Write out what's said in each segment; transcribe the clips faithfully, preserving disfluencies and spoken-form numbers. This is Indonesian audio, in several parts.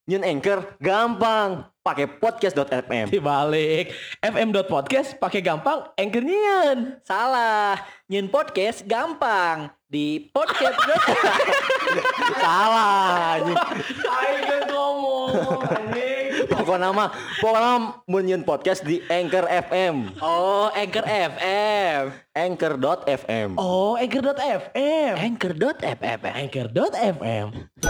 Nyun Anchor gampang, pakai podcast.fm. Dibalik fm.podcast pakai gampang Anchor nyian. Salah, nyun podcast gampang di podcast. Salah. Ayo ngomong anjing. Pokoknya mah, pokoknya mun nyun podcast di Anchor F M. Oh, Anchor F M. Anchor.fm. Oh, Anchor.fm. Anchor.fm. Anchor.fm.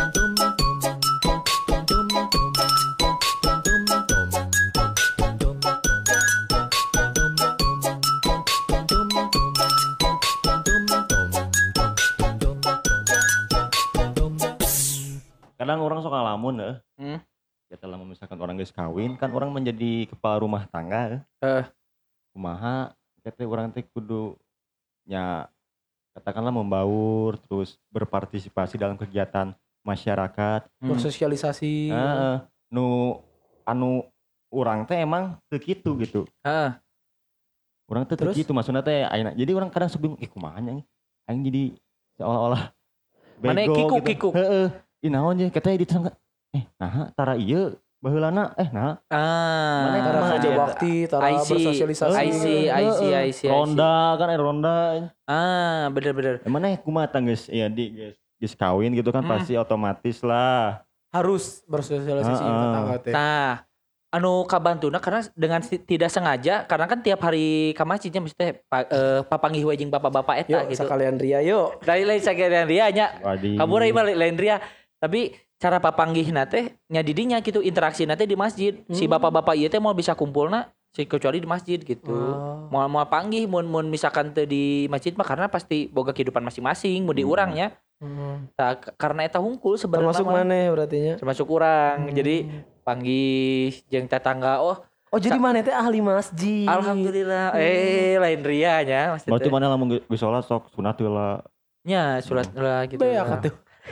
Kadang orang suka ngalamun ya. Hmm. Ya telah memisahkan orang geus kawin, kan orang menjadi kepala rumah tangga. Eh. Kumaha kita orang teh kudu nya katakanlah membaur, terus berpartisipasi dalam kegiatan masyarakat, Hmm. Bersosialisasi. Heeh. Nu anu urang teh emang teu kitu gitu. Heeh. Urang teh teu Terus? kitu maksudna teh ayeuna. Jadi orang kadang suka bingung, eh kumaha nya aing jadi seolah-olah Mana bego kikuk, gitu. kikuk. Heeh. Ih naon ye kita di tangga. Eh nah tara ieu baheulana eh nah Ah. Mana Tara Mana kerja ada? bakti, tara I see, bersosialisasi. I see, I see, I see. ronda kan eh ronda. Ah, bener-bener. Emang eh kumaha tang geus ya di geus geus kawin gitu kan Hmm. pasti otomatis lah. Harus bersosialisasi Heeh. tetangga teh. Nah, anu kabantuna karena dengan si- tidak sengaja karena kan tiap hari ka masjidnya mesti teh pa, eh, papanggih we jeung bapak-bapak eta Yuk gitu. sekalian ria yuk. Dari lain sakalian dia nya. Wadi. Kabur ieu mah lain ria. Tapi cara papanggihna teh nya didinya gitu interaksi teh di masjid. Si Hmm. bapak-bapak ieu teh mau bisa kumpulna si kecuali di masjid gitu. Oh. Mau mau panggih mun mun misalkan teu di masjid mah karena pasti boga kehidupan masing-masing mun di Hmm. urangnya. Hmm. Nah, k- karena eta hungkul sebenarnya Termasuk mah. mana berarti nya? Termasuk urang. Hmm. Jadi panggih jeung tetangga oh Oh jadi mana teh ahli masjid. alhamdulillah eh lain ria nya maksudnya. Berarti mana lamun geus sholat sok sunat heula. Nya surat lah gitu. Beak atuh.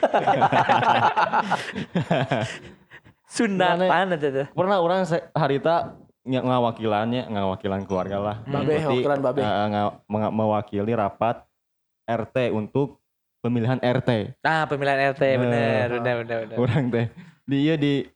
Sunatan eta teh. Pernah orang se- harita ng- ngawakilannya ngawakilan keluarga lah. Babe, Berarti, wakilan babe. eh, nga- menga- mewakili rapat R T untuk pemilihan R T. Nah, pemilihan R T Eh, bener, bener, bener, bener. Orang teh dia di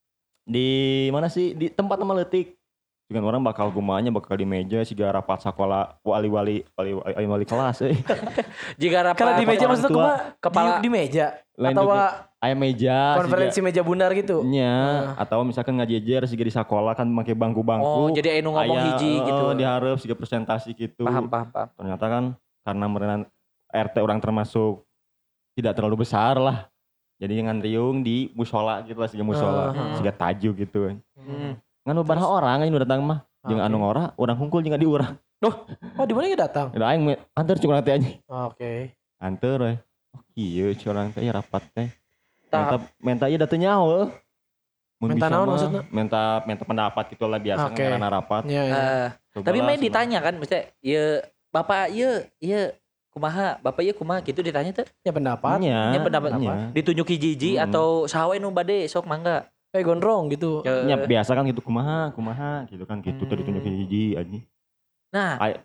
di mana sih di tempat nama letik. Dengan orang bakal gumanya bakal di meja siga rapat sekolah wali-wali wali-wali wali kelas euy. Jika rapat Kalau di meja orang maksudnya tua, kumaha? kepala- di, di meja Lain atau juga. wa- Aya meja konferensi meja bundar gitu. nya atau misalkan ngajejer siga di sekolah kan make bangku-bangku. Oh, jadi anu ngomong aya, hiji eh, gitu. diharap siga presentasi gitu. Paham, paham, paham. Ternyata kan karena merenan R T orang termasuk tidak terlalu besar lah. Jadi ngan riung di musola gitu lah, siga musola, Uh-huh. siga taju gitu. Hmm. Ngan beberapa orang yang datang mah, jeung Oke. anu ngora, urang hungkul jeung di urang. Oh di mana ya datang? Da aing me- anteur cuma teh anjing. Oke. Anteur we. Oh kieu curang teh ya rapat teh. Tah. Menta menta ieu da teu nyaho. Mun Menta bisa naon mah, maksudna? Menta menta pendapat gitu lah biasa Oke. ngaranna rapat. Ya, ya. Eh, Cobalah tapi main semua. ditanya kan, maksudnya, ya bapak iya, iya kumaha, bapak iya kumaha gitu ditanya tuh. Ya pendapat. Nya, Ya pendapat nya. Ditunjuk hiji-hiji Hmm. atau sawe nu bade sok mangga. Kayak gondrong gitu. Ya, Nya biasa kan gitu kumaha, kumaha gitu kan gitu tuh Hmm. ditunjuk hiji anjing. Nah, Ay-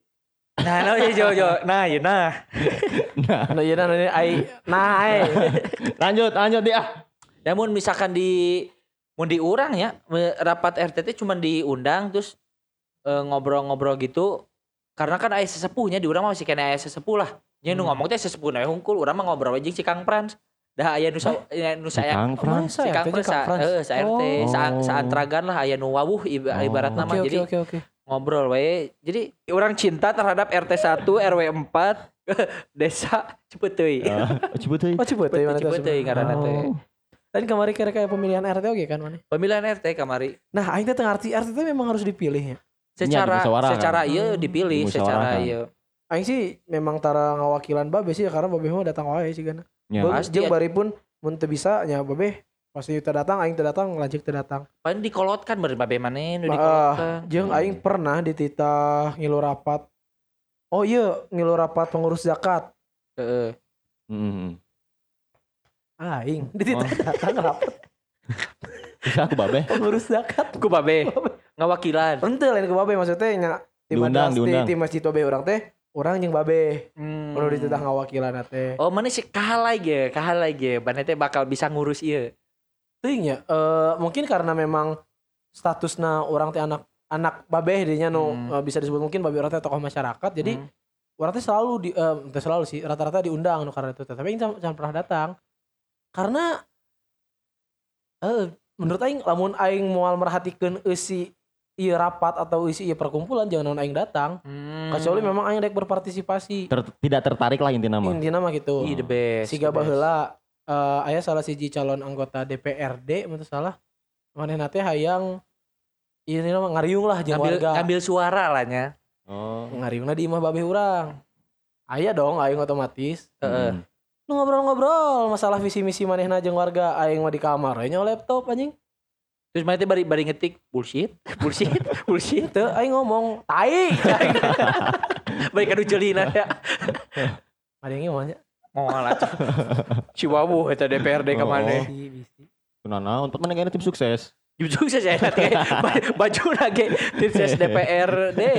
nah, nah, ya, jo, jo. nah, ya, nah. Nah, Nah iya nah ini ai nah ai. lanjut lanjut dia. Namun misalkan di mun diurang ya me- rapat R T T cuma diundang terus eh, ngobrol-ngobrol gitu karena kan aya sesepuhnya di urang mah masih kena aya sesepuh lah. Nya nu Hmm. ngomong teh sesepuh na hungkul urang mah ngobrol aja si Kang Frans. Dah aya nu sa aya nu Si saya Kang Frans. si Kang Frans sa heeh sa R T Oh. sa saantragan lah aya nu wawuh iba- Oh. ibaratna mah Oke jadi oke oke oke. ngobrol we. Jadi orang cinta terhadap R T satu R W empat desa Cipeuteui. Ah, Cepet euy. Oh Ciput ya mana Cipeuteui ngaranna teh. Oh. Tadi kemarin kira kayak pemilihan R T oke kan mana? Pemilihan R T kamari Nah aing teh teu ngarti R T teh memang harus dipilih ya. secara dimusyawarahkan. secara ieu Hmm. dipilih secara Dimusyawarahkan. ieu. Aing sih memang tara ngawakilan babe sih ya karena babe mah datang wae sih kan. Nya. Bagus Pasti jeung ya. bari pun mun teu bisa nya babe pasti teu datang aing teu datang lanjut teu datang. Paling dikolotkan beureun babe maneh nu Ah, dikolotkan. jeung aing pernah dititah ngilu rapat. Oh iya ngilu rapat pengurus zakat. Heeh. Heeh. Aing dititah datang rapat Bisa aku babe. pengurus zakat. Ku babe ngawakilan. Henteu lain ke babe maksudnya nya di Diundang, madrasah diundang. di, di masjid babe urang teh urang jeung babe. Hmm. Kudu dititah ngawakilan teh. Oh, mana sih kahalai ge, kahalai ge. Bane teh bakal bisa ngurus ieu. Teuing ya, eh, mungkin karena memang statusna orang teh anak anak babeh dinya nu Hmm. eh, bisa disebut mungkin babeh orang teh tokoh masyarakat. Jadi Hmm. orang teh selalu di eh, teu selalu sih, rata-rata diundang nu karena itu teh. Tapi aing jangan, jangan pernah datang. Karena eh menurut aing lamun aing moal merhatikeun eusi ieu rapat atau eusi ieu perkumpulan jangan naon aing datang. Hmm. Kecuali memang aing rek berpartisipasi. Ter- tidak tertarik lah intinya mah. Intina mah gitu. Ih, the best. Siga the best. baheula eh aya salah siji calon anggota D P R D mun teu salah. Manehna teh hayang ieu mah ngariung lah jeung Ngambil, warga. ngambil suara lah nya. Oh. Ngariungna di imah babeh urang. Aya dong aing otomatis. Heeh. Hmm. Lu ngobrol-ngobrol masalah visi misi manehna jeung warga aing mah di kamar we nya laptop anjing. Terus mana teh bari bari ngetik bullshit, bullshit, bullshit. Teu aing ngomong tai. Bari kadu ceulina ya. Mari ge mah nya. Moal atuh. Ciwawu eta D P R D ka Oh. maneh. Bisi bisi. Kenapa? Untuk mana tim sukses? Jujur saja nanti baju lagi tim ses D P R D.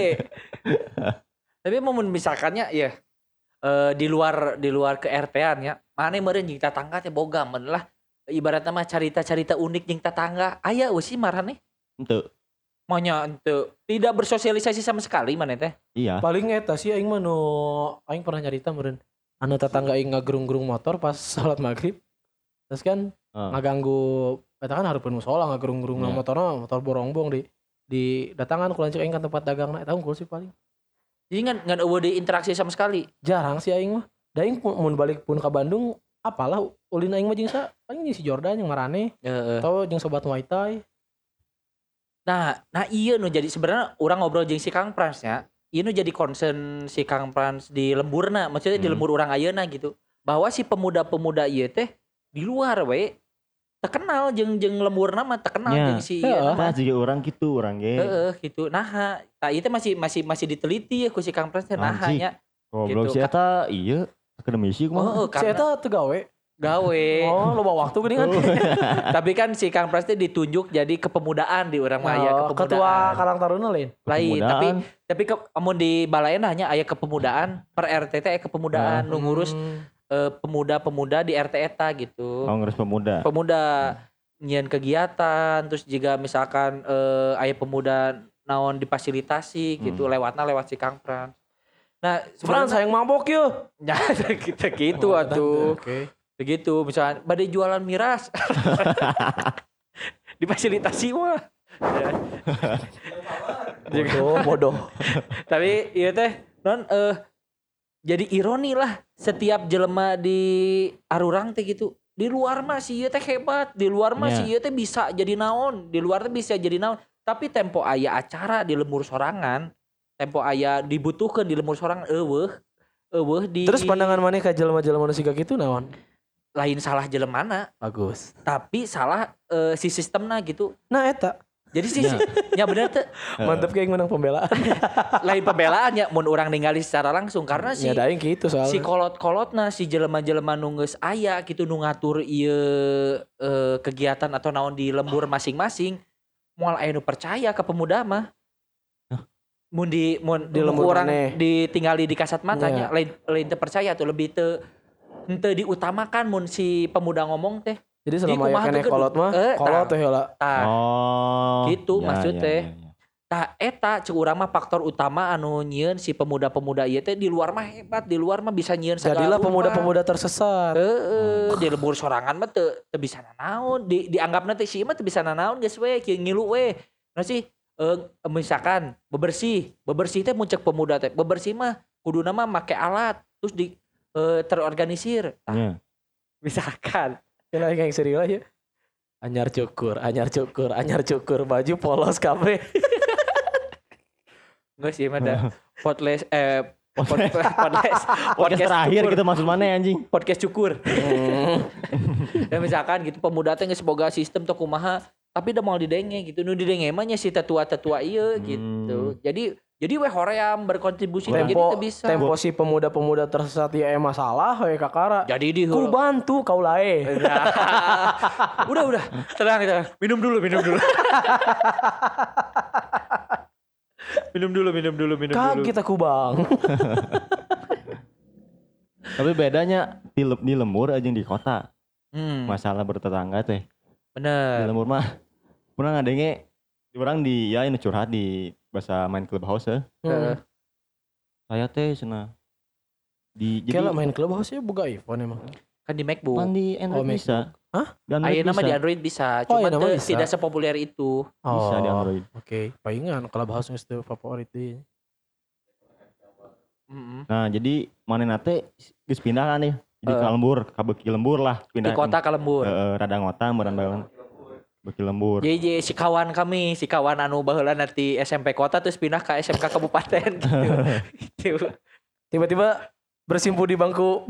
Tapi mau misalkannya ya eh, di luar di luar ke R T-an ya, mana meureun jeung tetangga teh boga men lah. Ibaratnya mah carita-carita unik jeung tetangga. Aya eusi marane. Ente. Maunya ente tidak bersosialisasi sama sekali mana teh. Iya. Paling eta sih aing mah nu aing pernah nyarita meureun. Anu tetangga aing ngagerung-gerung motor pas salat maghrib. Terus kan Ah. ngaganggu eta kan hareupeun musola ngagerung-gerung Iya. motorna motor borongbong di di datangan ku lanceuk aing ka tempat dagangna eta unggul sih paling. Jadi ngan ngan eueuh diinteraksi sama sekali. Jarang sih aing mah. Da aing pu- mun balik pun ka Bandung apalah ulin aing mah jeung sa paling jeung si Jordan jeung Marane Heeh. atau jeung sobat Muay Thai. Nah, nah iya nu jadi sebenarnya orang ngobrol jeung si Kang Prans nya. Ieu nu jadi concern si Kang Prans di lemburna, maksudnya di Hmm. lembur urang ayeuna gitu. Bahwa si pemuda-pemuda ieu teh di luar we terkenal jeung jeung lemburna mah terkenal Nya. jeung si Heeh. ieu Nah, juga orang gitu, orang ge. heeh gitu. Nah, tah ieu teh masih masih masih diteliti ya ku si Kang Prans teh nah Anjing. nya Goblok gitu. si eta iya akademisi oh, kumaha. Si karena eta teu gawe. gawe. Oh, loba waktu geuningan. Tapi kan si Kang Prans teh ditunjuk jadi kepemudaan di urang mah aya Oh, kepemudaan. ketua Karang Taruna lain. Lain, tapi Kepemudaan. tapi ke, amun di balayan hanya aya kepemudaan per R T teh aya kepemudaan nu ngurus Hmm. eh, pemuda-pemuda di R T eta gitu. Kongres Pemuda. Pemuda nyian kegiatan terus juga misalkan eh, aya pemuda naon difasilitasi gitu Hmm. lewatna lewat si Kang Prans. Nah, Fran sebenarnya sayang mabok yeuh. ya kita gitu Oh, atuh. Oke. Begitu misalkan badai jualan miras. Difasilitasi mah. Ya. Bodoh, bodoh. Tapi iya teh non eh jadi ironi lah setiap jelema di arurang teh gitu. Di luar mah si ieu teh hebat, di luar mah Nya. si ieu teh bisa jadi naon, di luar teh bisa jadi naon. Tapi tempo aya acara di lembur sorangan, tempo aya dibutuhkeun di lembur sorangan eueuh, eueuh di Terus pandangan maneh ka jelema-jelema nu siga kitu naon? lain salah jelemana, Bagus. tapi salah eh, si sistemna gitu. Nah eta Jadi si, Ya. ya bener teh mantep kayak menang pembelaan. lain pembelaan ya mun urang ningali secara langsung karena si Ya daing gitu soalnya. si kolot-kolotna si jelema-jelema nu geus aya gitu nu ngatur ieu eh, kegiatan atau naon di lembur masing-masing moal aya nu percaya ke pemuda mah. Mun di mun Di di lembur orang maneh. ditinggali di kasat Iya. matanya lain lain teu percaya tuh lebih teu henteu diutamakan mun si pemuda ngomong teh. Jadi Jadi selama aya kumaha keneh tuh kolot mah, Eh, kolot tah. teh heula. Tah, Oh. Gitu maksud teh. ya, ya. tah eta cek urang mah faktor utama anu nyieun si pemuda-pemuda ieu teh di luar mah hebat, di luar mah bisa nyieun segala Jadilah rupa. pemuda-pemuda tersesat. Heeh, di lembur sorangan mah teu teu bisa nanaon, di dianggapna teh si mah teu bisa nanaon geus we kieu ngilu we. Nah sih eh, misalkan bebersih, bebersih teh muncak pemuda teh. Bebersih mah kuduna mah make alat terus di eh, terorganisir. Tah, Ya. misalkan Kira yang serius lah ya. Anyar cukur, anyar cukur, anyar cukur, baju polos kabeh. enggak sih mah da podcast eh pod- podcast Podcast terakhir cukur. gitu maksud mana ya, anjing? Podcast cukur. Ya misalkan gitu pemuda teh geus boga sistem teu kumaha tapi udah mau didenge gitu nu didenge mah nya si tetua-tetua ieu gitu. Jadi jadi we hoream berkontribusi jadi Tempo, teu bisa. tempo si pemuda-pemuda tersesat ya eh masalah we kakara. Jadi di Ku bantu kau lae. udah udah tenang tenang minum dulu minum dulu. minum dulu minum dulu minum Kag dulu. kita kubang. Tapi bedanya di, le- di lembur aja di kota. Hmm. Masalah bertetangga teh. Di Bener. lembur mah pernah ngadenge orang di ya ini curhat di bahasa main clubhouse ya. Hmm. Saya teh cenah di jadi Kayak lah main clubhouse ya buka iPhone emang. Kan di MacBook. pan di Android Oh, MacBook. bisa. Hah? Di Android Ayeuna mah bisa. di Android bisa, Oh, cuma ayeuna mah bisa. tidak sepopuler itu. Bisa di Android. Oke, palingan clubhouse geus teu favorit deui. Mm-mm. Nah, jadi manehna teh geus pindah kan nih. Jadi Eh. ke lembur, ka beuki lembur lah Di pindah. kota ka lembur. Heeh, rada ngota meureun baeun. Beuki lembur. Jadi, jadi si kawan kami, si kawan anu baheula nanti S M P kota terus pindah ke S M K kabupaten gitu. Gitu. Tiba-tiba bersimpu di bangku.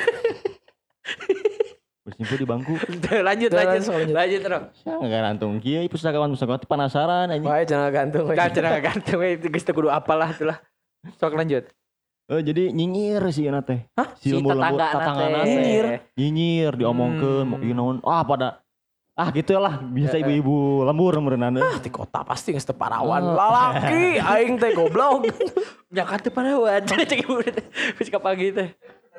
Bersimpu di bangku. Tuh, lanjut Tuh, lanjut langsung lanjut. lanjut terus. Sia ngarantung kieu pustakawan pustakawan penasaran anjing. Bae jangan gantung. we. Gak cenah gantung we, itu geus teu kudu apalah itulah. Sok lanjut. Eh jadi nyinyir sih euna teh. Hah? Si lembur-lembur tatanganna teh. Nyinyir? Nyinyir diomongkeun Hmm. mau ieu naon. Ah pada ah gitu lah bisa ibu-ibu lembur meureunana. Ah, di kota pasti geus teu parawan. Ah. Lalaki aing teh goblok. Jakarta parawan. Cek ibu wis ka pagi teh.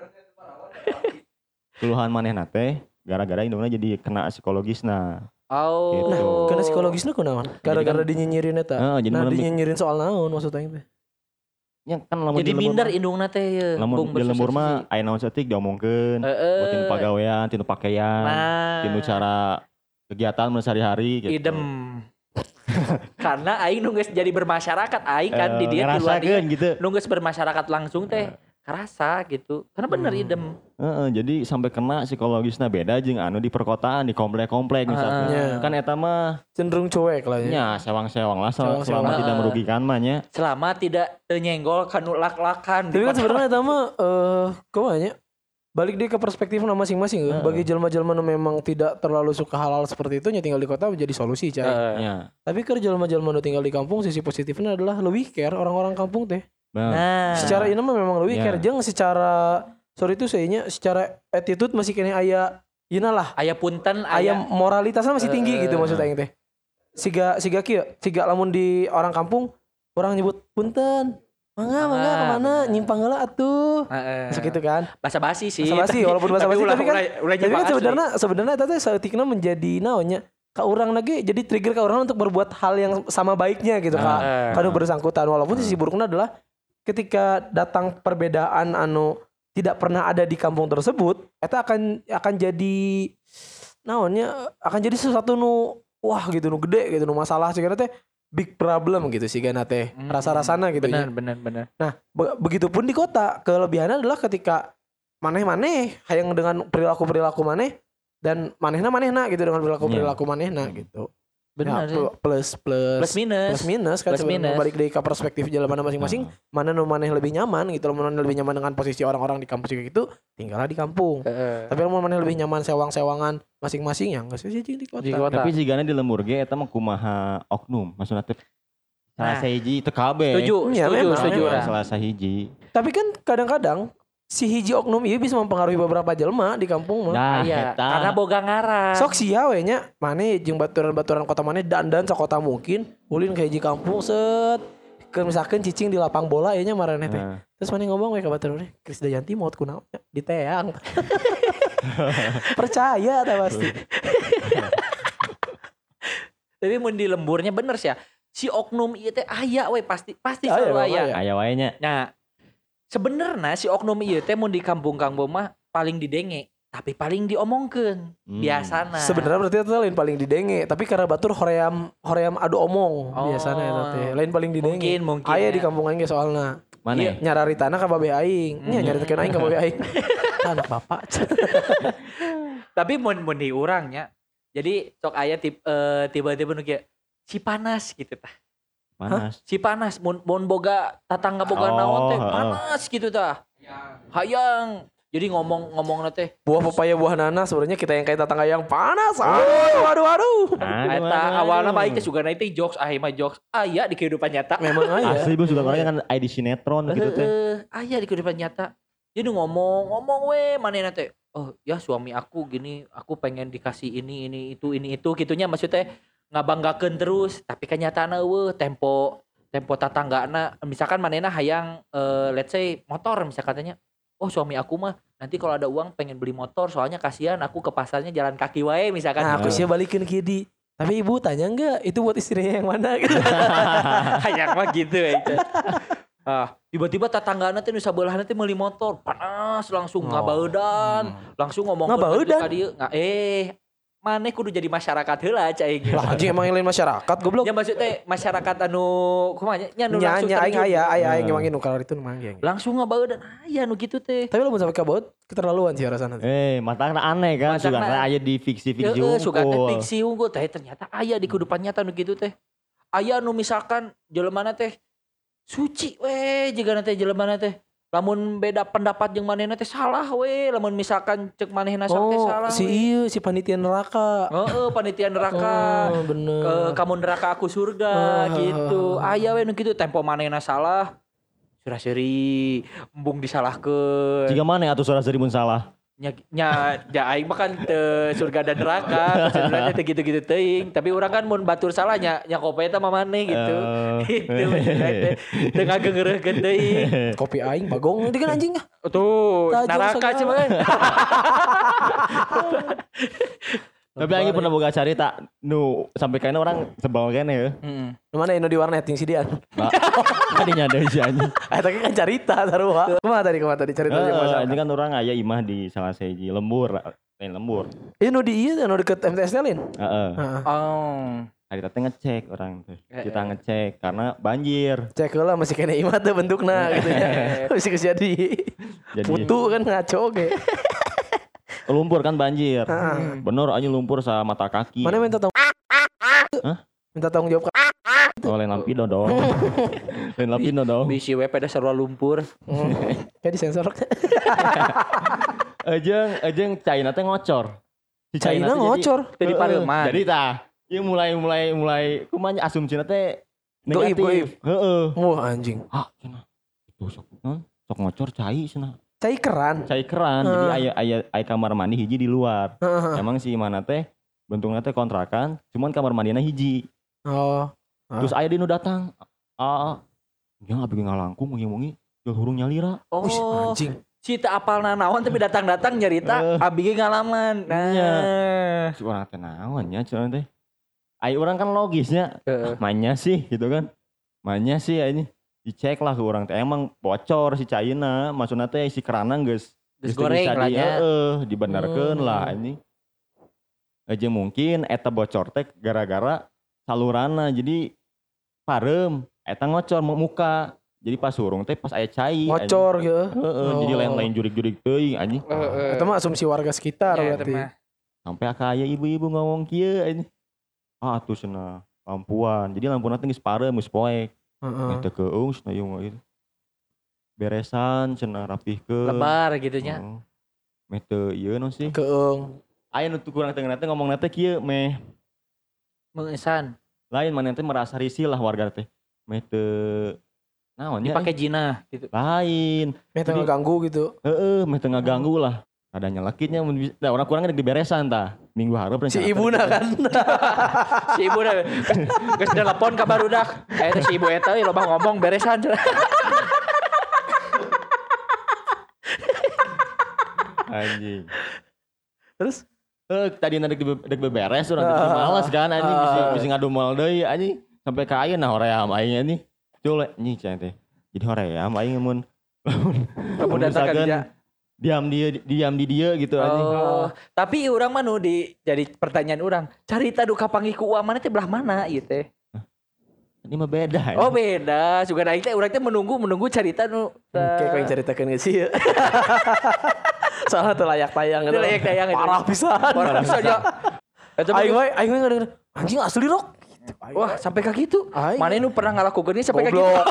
Keluhan manehna teh gara-gara indungna jadi kena psikologisna. Oh. Gitu. Nah, karena psikologisnya kunaon? Gara-gara dinyinyirin eta. Heeh, jadi Nah, malam- dinyinyirin soal naon maksud aing teh? Ya kan lamun Jadi di lembur minder mah- indungna teh ye. lamun Bung di lembur bersosialisasi. mah aya naon saeutik diomongkeun. Heeh. Buat tinu pagawean, tinu pakaian, Nah. tinu cara kegiatan mun sehari-hari gitu. Idem. Karena aing nu geus jadi bermasyarakat aing kan di Eh, dia di luar ngerasakeun dia gitu. nu geus bermasyarakat langsung teh kerasa gitu. Karena bener Hmm. idem. Heeh, jadi sampai kena psikologisna beda jeung anu di perkotaan di komplek-komplek misalkan. Iya. Kan eta mah Cenderung cuek lah ya. nya sewang-sewang lah selama, Sewang-sewang. selama tidak Heeh. merugikan mah nya. Selama tidak teu nyenggol kanu lak-lakan. Tapi kan sebenarnya eta mah eh kumanya balik deh ke perspektif masing-masing. Heeh. Bagi jelma-jelma nu memang tidak terlalu suka hal-hal seperti itu nya tinggal di kota menjadi solusi cai. Heeh. Ya. Tapi ke jelma-jelma nu tinggal di kampung sisi positifnya adalah lebih care orang-orang kampung teh. Bener. Nah, Secara ini mah memang lebih Ya. care jeung secara sorry itu sehingga secara attitude masih kena aya yeuna lah. aya punten Aya aya moralitasnya masih tinggi Eh, gitu maksud aing teh. Siga siga kieu, siga lamun di orang kampung orang nyebut punten. Mangga mangga Ah, kemana bener. nyimpang heula atuh. heeh. Masuk gitu kan. Basa basi sih. Basa basi tapi- walaupun basa basi ulah- tapi kan ulah- ulah tapi kan nyimpang asli. sebenarnya sebenarnya eta teh saeutikna menjadi naonnya ka urang lagi jadi trigger ka urang untuk berbuat hal yang sama baiknya gitu ka Heeh. kanu bersangkutan walaupun sisi buruknya adalah ketika datang perbedaan anu tidak pernah ada di kampung tersebut eta akan akan jadi naonnya akan jadi sesuatu nu wah gitu nu gede gitu nu masalah sih teh big problem gitu sih gana teh Hmm, rasa-rasana gitu bener ya. bener bener. Nah, be- begitupun di kota, kelebihannya adalah ketika maneh-maneh hayang dengan perilaku-perilaku maneh dan manehna manehna gitu dengan perilaku-perilaku manehna gitu. Bener Ya, sih. pl- plus plus Plus minus. plus minus kan Plus sebenarnya minus. balik dari ke perspektif jalan mana masing-masing, Nah. mana nu maneh lebih nyaman gitu, mana nu lebih nyaman dengan posisi orang-orang di kampus kayak gitu, tinggallah di kampung. Heeh. Tapi kalau maneh lebih nyaman sewang-sewangan masing-masing ya enggak sih di kota. Di kota. Tapi sigana di lembur ge eta mah kumaha oknum maksudna teh salah Nah. sahiji teu kabeh. Setuju, Ya, setuju, memang, setuju. memang. Nah. Salah sahiji. Tapi kan kadang-kadang si hiji oknum ieu bisa mempengaruhi beberapa jelema di kampung mah. Nah, Iya, eta. karena boga ngaran. Sok sia we nya maneh jeung baturan-baturan kota maneh dandan sakota mungkin ulin ka hiji kampung set ke misalkan cicing di lapang bola ya nya marane teh. Nah. Terus maneh ngomong we ka baturan maneh Krisdayanti maot kunaon nya di teang. Percaya ta pasti. Tapi mun di lemburnya bener sih ya. Si oknum ieu teh aya we pasti pasti Aya, selalu memang aya. aya. Aya wae nya. Nah, sebenarnya si oknum ieu teh mun di kampung-kampung mah paling didenge, tapi paling diomongkeun. Hmm. Biasana. Sebenarnya berarti itu lain paling didenge, tapi karena batur hoream hoream adu omong Oh. biasanya eta teh. Lain paling didenge. Mungkin, mungkin, Aya ya. di kampung aing ge soalna. Mana? Iya. Nyararitana ka babe aing. Nya Hmm. nyaritakeun aing ka babe aing. Anak bapak. Tapi mun mun di urangnya. Jadi sok aya tip, eh, tiba-tiba nu kieu si panas gitu tah. Panas. Si panas mun mun boga tatangga boga Oh, naon teh heeh. panas gitu tah. Hayang. Jadi ngomong-ngomong teh Buah pepaya buah nanas sebenarnya kita yang kayak tetangga yang panas. Aduh, aduh, aduh. Aduh, eta aduh, awalna mah aduh. aing teh sugana teh jokes, ah mah jokes. Aya di kehidupan nyata. Memang aja. Asli bos juga orangnya kan aya di sinetron gitu teh. Heeh, aya di kehidupan nyata. Jadi ngomong, ngomong we manehna teh. Oh, ya suami aku gini, aku pengen dikasih ini ini itu ini itu gitunya maksudnya ngabanggakeun terus, tapi kan nyatana eueuh tempo tempo tatanggana misalkan manehna hayang eh, let's say motor misalkan katanya. Oh, suami aku mah nanti kalau ada uang pengen beli motor soalnya kasihan aku ke pasarnya jalan kaki wae misalkan. Nah, aku gitu. sih balikin ke di. Tapi ibu tanya enggak, itu buat istrinya yang mana gitu. Kayak mah gitu ya itu. Ah, tiba-tiba tetanggana teh nu sabeulah teh meuli motor, panas langsung Oh. ngabaeudan, langsung ngomong Ngabaeudan? ka dieu. Nggak eh maneh kudu jadi masyarakat heula cai gitu. Lah anjing emang yang lain masyarakat goblok. Ya maksud teh masyarakat anu kumaha nya nya nu Nya langsung nya aing terjun. aya aya aing Nah. emang nu kalau itu nu manggil. Langsung ngabaeudan aya nu kitu teh. Tapi lamun sampai kabut keterlaluan sih rasana. Eh, matangna aneh kan, Matangna- sugan aya di fiksi-fiksi Heeh, suka teh unggul. fiksi unggul teh ternyata aya di kehidupan nyata nu kitu teh. Aya nu misalkan jelemana teh suci we jigana teh jelemana teh. Lamun beda pendapat jeung manehna teh salah we, lamun misalkan cek manehna sok teh Oh, salah. si we. ieu si panitia neraka. Heeh, panitia neraka. Oh, bener. Ke kamu neraka aku surga Ah. gitu. Aya we nu kitu tempo manehna salah. Surah seuri embung disalahkeun. Jika mana atuh suara serimun salah. nya nya ja aing mah kan teu surga dan neraka, sebenarnya teu gitu-gitu teuing, tapi urang kan mun batur salah nya nya kopi eta mah maneh gitu. Eh. Gitu teh. Teu ngagengeureurkeun teuing. Kopi aing bagong itu kan anjing ah. Tuh, Tajam neraka segala. cuman. Tapi aing pernah boga carita nu sampai kayaknya orang sebal kene ya. Heeh. Nu mana anu di warnet yang si Dian. Nah, tadinya ada si anjing. Ah tapi kan carita sarua. Kumaha tadi kumaha tadi cerita yang Heeh, masalah. ini kan orang aya imah di salah siji lembur, lain lembur. Ieu nu di ieu anu deket M T S Lin. Heeh. Heeh. Oh. Hari teh ngecek orang tuh. Eh, Kita eh. ngecek karena banjir. Cek heula masih kena imah teh bentukna gitu ya. Masih kejadi. Jadi Putu kan ngaco ge. lumpur kan banjir. Heeh. Bener aja lumpur sa mata kaki. Mana minta tanggung Hah? Minta tanggung jawab. Oh, lain lampido dong. Lain lampido dong. Bisi we pada sarua lumpur. Kayak disensor. Ejeng, ejeng China teh ngocor. Si China teh jadi- ngocor. Teu di Heeh, pareuman. Jadi tah, ieu mulai mulai mulai kumanya asumsina teh Goib, goib. negatif. Heeh. Wah anjing. Ah, cenah. Itu sok non, sok ngocor cai cenah. Cai keran. Cai keran. Jadi Heeh. aya aya aya kamar mandi hiji di luar. Heeh. Emang si mana teh bentuknya teh kontrakan, cuman kamar mandinya hiji. Oh. Terus aya di nu datang. Ah, ya abdi ngalangkung wengi-wengi jeung hurung nyalira. Oh. Wih, anjing. Si teu apalna naon tapi datang-datang nyarita Eh. abi ge ngalaman. Nah. Iya. Si urang teh naon nya cenah teh. Ai urang kan logisnya, Heeh. ah, mainnya sih gitu kan. Mainnya sih ini dicek lah ke urang teh emang bocor si caina, maksudna teh si keranang geus Geus geus goreng bisa lah di nya. heeh, dibenerkeun Hmm. lah ini. Aja mungkin eta bocor teh gara-gara saluranna jadi parem eta ngocor mu- muka. Jadi pas urung teh pas aya cai. Ngocor gitu. anjing. Heeh, jadi Oh. lain-lain jurik-jurik teuing anjing. Heeh. Itu mah asumsi warga sekitar Ya, eta berarti. mah. Sampai aya ibu-ibu ngomong kieu ini. Ah atuh cenah lampuan. Jadi lampuan teh geus parem geus poek. Heeh. Eta keung cenah ieu mah gitu. Beresan cenah rapihkeun. Lebar gitu nya. Heeh. Meh teu ieu naon sih? Keung. Aya nu teu kurang tengah teh ngomongna teh kieu meh Mengesan. lain mana teh merasa risih lah warga teh. Meh teu naon ya? Dipakai jina gitu. Lain. Meh teu Jadi- ngeganggu gitu. Heeh, meh teu ngaganggu lah. Ada nyelekitnya mun bisa. Nah, orang kurang dek diberesan tah. Minggu hareup Si ibuna kan. Si ibu udah geus telepon ka barudak. Eh teh si ibu eta euy loba ngomong beresan. Anjing. Terus Eh tadi dek dibe- dek beberes urang Ah, teh malas kan anjing ah. bisa bisa ngadumel deui anjing sampai ka ayeuna hoream aing ini. Cule anjing cenah teh. Jadi hoream aing mun Kamu datang ka dia. diam dia diam di dia gitu anjing. Oh, tapi urang mah nu di jadi pertanyaan urang, carita duka panggih ku uang mana teh belah mana ieu teh? Ini mah beda. Oh beda, juga aing teh urang teh menunggu menunggu carita nu kayak kau yang ceritakan gak sih? Soalnya tuh layak tayang Itu layak tayang itu. Parah pisan. Parah pisan ya. Eta mah Aing we aing we ngadenger anjing asli rok. wah sampai ka kitu. Aing. Mana nu pernah ngalakukeun sampai ka kitu? Goblok.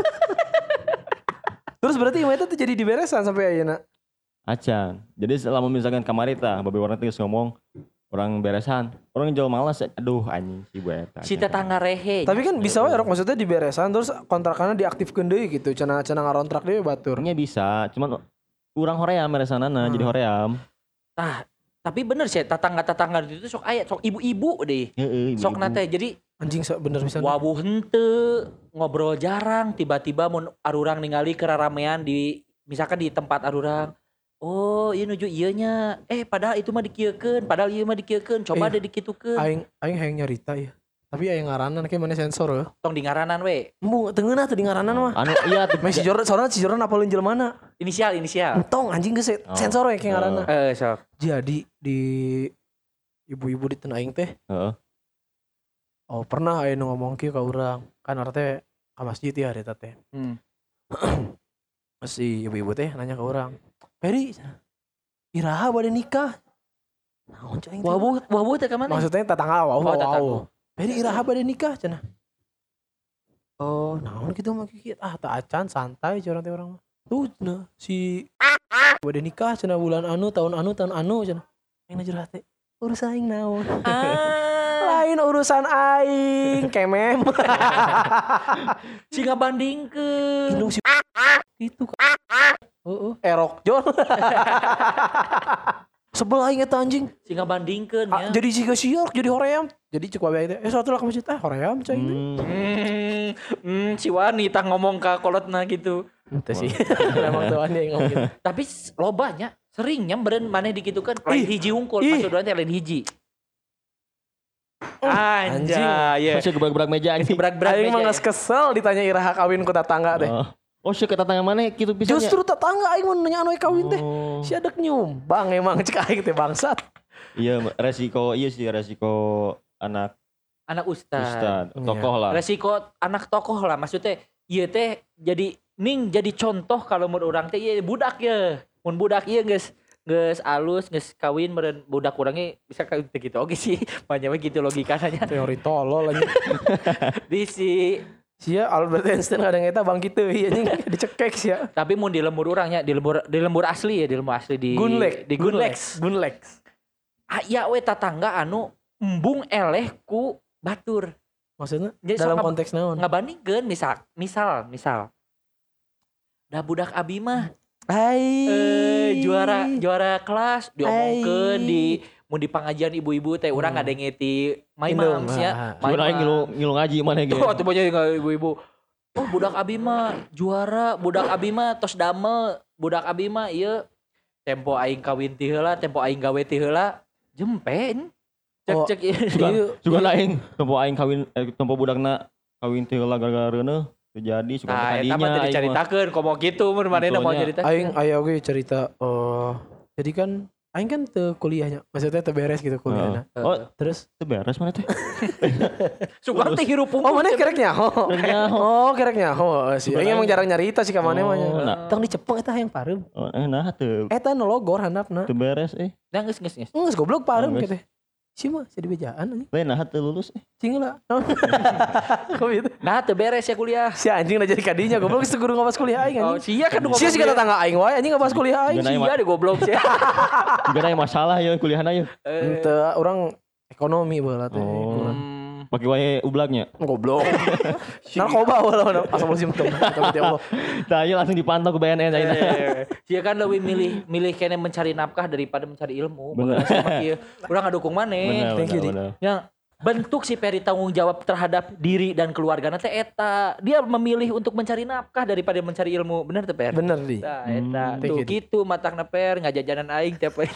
Terus berarti imah itu tuh jadi diberesan sampai ayeuna. Acan. Jadi selama misalkan kamarita babe warna teh geus ngomong orang beresan, orang jauh malas. Aduh anjing si bu eta. Si tetangga rehe. Tapi kan bisa wae rok maksudnya diberesan terus kontrakannya diaktifkeun deui gitu. Cenah cenah ngarontrak deui batur. Orangnya bisa, cuman urang hoream beresanana Hmm. jadi hoream. Tah, tapi bener sih tetangga-tetangga itu sok aya sok ibu-ibu deh. Heeh, Sok ibu-ibu. nate jadi Anjing sa- bener bisa. wabuh henteu ngobrol jarang tiba-tiba mun arurang ningali keraramean di misalkan di tempat arurang Oh, iya nuju ieu nya. Eh, padahal itu mah dikieukeun, padahal ieu mah dikieukeun. Coba Eh, deh dikitukeun. Aing aing hayang nyarita ya. Tapi aya ngaranan kayak mana sensor ya. Tong di ngaranan we. Embung teu ngeunah teu di ngaranan mah. Anu iya tuh. Meh si Jordan soalnya si Jordan apalin jelmana. Inisial, inisial. Entong anjing geus Oh. sensor we kayak ngaranna. Eh, sok. Jadi di ibu-ibu di Teu Aing teh. Heeh. Oh, pernah aya nu ngomong kieu ka urang. Kan arep teh ka masjid ya eta teh. Hmm. Si ibu-ibu teh nanya ke orang. Peri, iraha bade nikah. Naon cai? Wabu, wabu teh ka mana? Maksudnya tetangga wow, Oh, wow, tetangga. wow. Peri iraha bade nikah cenah. Oh, naon kitu mah kieu. Ah, teu acan santai curang teh urang mah. Tuh cenah si bade nikah cenah bulan anu, tahun anu, tahun anu cenah. Aing curhat teh. Urusan aing naon? Ah, Lain urusan aing, kemem. si ngabandingkeun. Indung si itu kan. Heeh, erok Jon. Sebel aing eta anjing. Si ngabandingkeun Ah, ya. jadi jika siok jadi hoream. Jadi cek wae teh. Eh satu lah ke masjid ah hoream cai teh. Hmm. Hmm, hmm, si wanita ngomong ka kolotna gitu. Teu sih. Emang tuh aneh ngomong gitu. Tapi s- lobanya seringnya beren maneh dikitukan lain Ih, hiji unggul ih. maksudnya teh lain hiji. anjing. Anjay, ya. Masih gebrak-gebrak meja anjing. Berat-berat Aing mah meja. geus kesel ditanya iraha kawin ku tetangga teh. Oh. Oh, sih kata tanya mana gitu bisa. Justru tetangga aing mau nanya anu kawin teh. Oh. Si adek nyumbang emang cek aing teh bangsat. Iya, resiko iya sih resiko anak Anak ustad. ustad, Iya. tokoh lah. Resiko anak tokoh lah maksudnya ieu teh jadi ning jadi contoh kalau mun urang teh ieu budak ya. Mun budak ieu geus geus alus geus kawin meureun budak urang ge bisa kawin teh gitu oge sih. Banyak we gitu logikanya. Teori tolol anjing. Di si Sia Albert Einstein kadang eta bang kitu ieu anjing dicekek sia. tapi mun di lembur urangnya di lembur di lembur asli ya di lembur asli di Gunlex, di Gunlex. Gunlex. Aya we tetangga anu embung eleh ku batur. Maksudnya Jadi dalam sok konteks naon? Ngabandingkeun misal misal misal da budak abi mah Hai. eh juara juara kelas diomongkeun Ai. di mun di pangajian ibu-ibu teh urang Hmm. ngadenge ti my Indung, moms ya. ah. My Cuma aing ngilu ngilu ngaji mana gitu. Oh, tuh banyak ibu-ibu. Oh, budak abi mah juara, budak abi mah tos damel, budak abi mah ieu tempo aing kawin ti heula, tempo aing gawe ti heula, jempen. Cek Oh, cek ieu. Juga Iya. juga aing tempo aing kawin eh, tempo budakna kawin teh heula gara-gara reuneuh terjadi suka Nah, eta tadinya mah teu dicaritakeun komo kitu mun manehna mau Betulnya. cerita. Aing aya oge cerita oh jadi kan aing kan teu kuliahnya. Maksudnya teu beres gitu kuliahnya. Oh, Terus itu beres mana teh? Suka teh hirup oh mana kereknya? Oh, Kereknya, oh kereknya. Oh, sih. Bukan Aing emang aing. jarang nyarita sih ka maneh mah. Oh, nya. nah. Tong dicepeng eta hayang pareum. Oh, eh, nah teu Eta nu logor handapna. teu beres eh. Dah geus geus geus. Geus goblok pareum Oh, geus. kitu. Si mah jadi bejaan anjing. Lain nah teu lulus eh. Cing lah. Kok gitu? Nah, teu beres ya kuliah. Si anjing udah jadi kadinya goblok geus guru ngawas kuliah aing Oh, anjing. sia kan nu Sia sih kata tangga aing wae anjing ngawas kuliah aing. Juga Sia deh goblok sih. Juga aya masalah ya kuliahna ya. Henteu orang ekonomi baheula teh. Oh. Hmm. Pakai wae ublagnya. Goblok. Narkoba walau asal musim tem. Tapi ya Allah. Tah ieu langsung dipantau ke B N N ayeuna. Dia kan lebih milih milih kene mencari nafkah daripada mencari ilmu. Bener. Urang ngadukung maneh. Bener, Thank you, bener, bener. Ya, bentuk si Peri tanggung jawab terhadap diri dan keluarga teh eta. Dia memilih untuk mencari nafkah daripada mencari ilmu. Bener teh Per? Bener di. Nah, eta. Hmm. Tuh Thank you, gitu matangna Per ngajajanan aing tiap hari.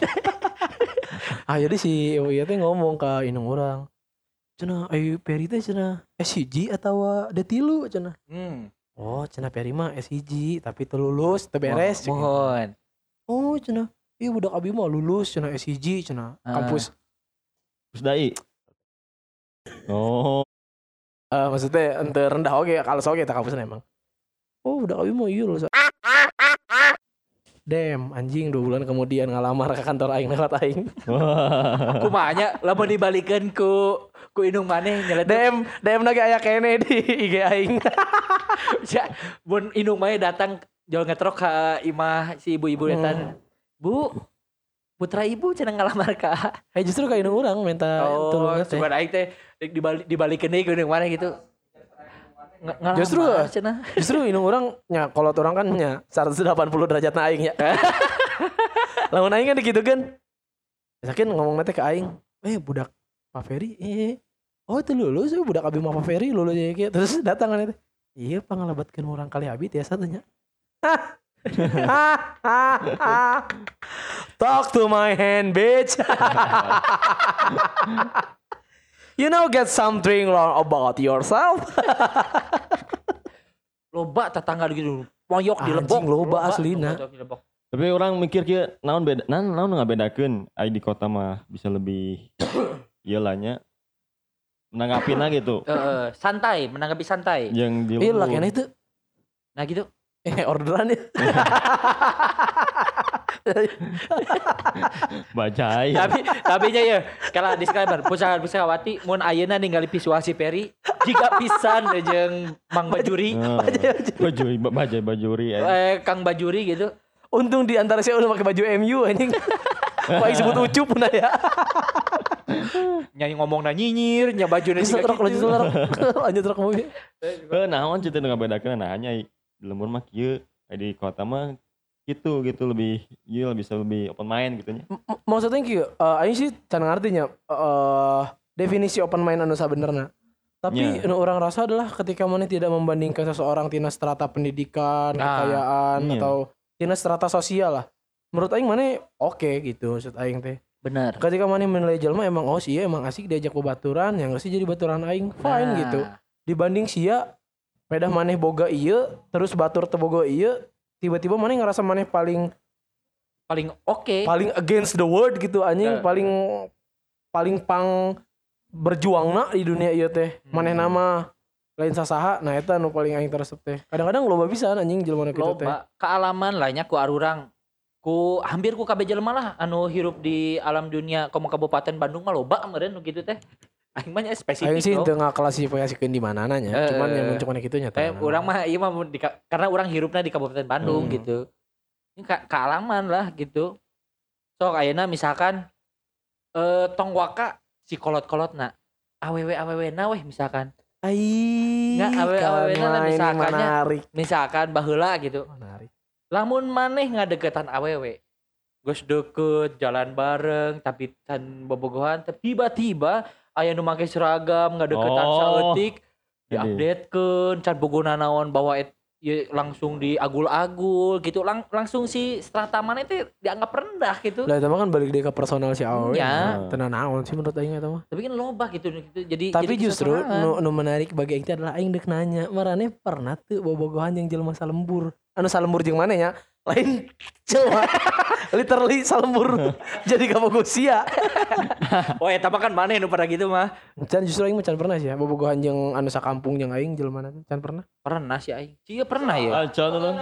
Ah jadi si ibu ieu teh ngomong ka indung urang. Cenah ayu Peri teh cenah S hiji atawa D tilu cenah. Hmm. Oh cenah Peri mah S hiji tapi teu lulus teu beres. cenah. Mohon. Oh cenah. Iya budak abi mah lulus cenah S hiji cenah. Ah. Kampus Terus dai. Oh, eh maksudnya ente rendah oge kalau oge tak kampusna emang. Oh budak abi mah iya lulus. Dem anjing dua bulan kemudian ngalamar ke kantor aing lewat aing. wah. Kumanya lamun dibalikeun ku ku indung maneh nyeletuk. Dem dem lagi aya kene di I G aing. Ya, mun indung maneh datang jual ngetrok ka imah si ibu-ibu Hmm. etan. Bu, putra ibu cenah ngalamar ka. Eh justru kayak indung urang minta Oh, tolong teh. sugan aing teh dibalik dibalikeun deui ku indung maneh gitu. Ng- ngalamar Justru cenah. Justru indung urang nya kolot orang kan nya seratus delapan puluh derajat na aing nya. Lamun aing kan digitukeun. Sakin ngomong teh ke aing, "Eh budak Pak Ferry, eh oh itu lulus eh, budak abi mah Pak Ferry lulus ya kieu." Terus datang kan teh. Iya pangalabatkeun urang kali abi tiasa teh nya. Talk to my hand, bitch. You know, get something wrong about yourself. Loba tetangga gitu. Moyok di lebok. Anjing, loba aslina. Moyok di lebok. Tapi orang mikir kieu naon beda naon naon ngabedakeun ai di kota mah bisa lebih ieu lah nya menanggapina gitu. Heeh, santai, menanggapi santai. Yang di Iya lah lembur. kan itu. Nah gitu. Eh orderan ya. Bajai. Tapi tapi nya ya kalau disclaimer pusaka pusakawati mun ayeuna ningali visual si Peri jika pisan jeung Mang Bajuri Oh, bajuri bajai bajuri. eh. eh Kang Bajuri gitu. Untung di antara saya udah pakai baju M U anjing. Paling sebut ucup pun ya. Nyanyi ngomong na nyinyir, nya bajuna Lanjut juga truk, lanjut gitu. truk. Lanjut truk mobil. Heuh naon cerita nu ngabedakeun nah nya di lembur mah kieu ai di kota mah gitu gitu lebih ieu bisa lebih open mind gitu nya. M- Maksudnya kieu, eh aing sih can ngartinya eh definisi open mind anu sabenerna. Tapi Nya. anu orang rasa adalah ketika mana tidak membandingkan seseorang tina strata pendidikan, Nah, kekayaan iya. atau tina strata sosial lah. Menurut aing mana oke gitu maksud aing teh. Bener. Ketika mana menilai jelema emang oh sih emang asik diajak bebaturan, yang sih jadi baturan aing fine Nah, gitu. Dibanding sia pedah maneh boga ieu terus batur teu boga ieu tiba-tiba maneh ngerasa maneh paling paling oke. paling against the world gitu anjing Nah. paling paling pang berjuangna di dunia ieu teh maneh nama lain sasaha nah eta nu paling aing teresep teh kadang-kadang loba pisan anjing jelema kitu teh Loba kealaman lah nya ku arurang. Ku hampir ku kabeh jelema lah anu hirup di alam dunia komo Kabupaten Bandung mah loba meureun nu kitu teh. Aing mah nya spesifik. aing sih loh. teu ngaklasifikasikeun di manana nya Eh, cuman yang cuman kitu nya Eh, orang mah iya mah di, karena orang hirupna di Kabupaten Bandung Hmm. gitu. Ini ka, kealaman lah gitu. Sok ayeuna misalkan eh tong waka si kolot-kolotna. Awewe awewe na weh misalkan. ai Nggak, awe-awe na lah ini misalkannya. menarik Misalkan baheula gitu. menarik Lamun maneh ngadeketan awewe. Geus deket jalan bareng tapi tan bobogohan tapi tiba-tiba aya nu make seragam ngadeketan Oh. saeutik diupdatekeun can bogona naon bawa et, ya, langsung diagul-agul gitu lang, langsung si strata mana itu dianggap rendah gitu. lah itu mah kan balik deui ka personal si awewe Iya. teu naon sih menurut aing eta mah Tapi kan loba gitu, gitu. Jadi tapi jadi justru kesesarangan. nu, nu menarik bagi aing teh adalah aing dek nanya marane pernah tuh bobogohan yang jelema salembur anu salembur jeung maneh nya lain jelema literally salembur jadi kabogo sia Oh ya tapi kan mana nu pada gitu mah. can justru aing mah can pernah sih ya bobogohan jeung anu sakampung jeung aing jelema teh can pernah Pernah sih aing. Cia pernah ya. Acan ulun.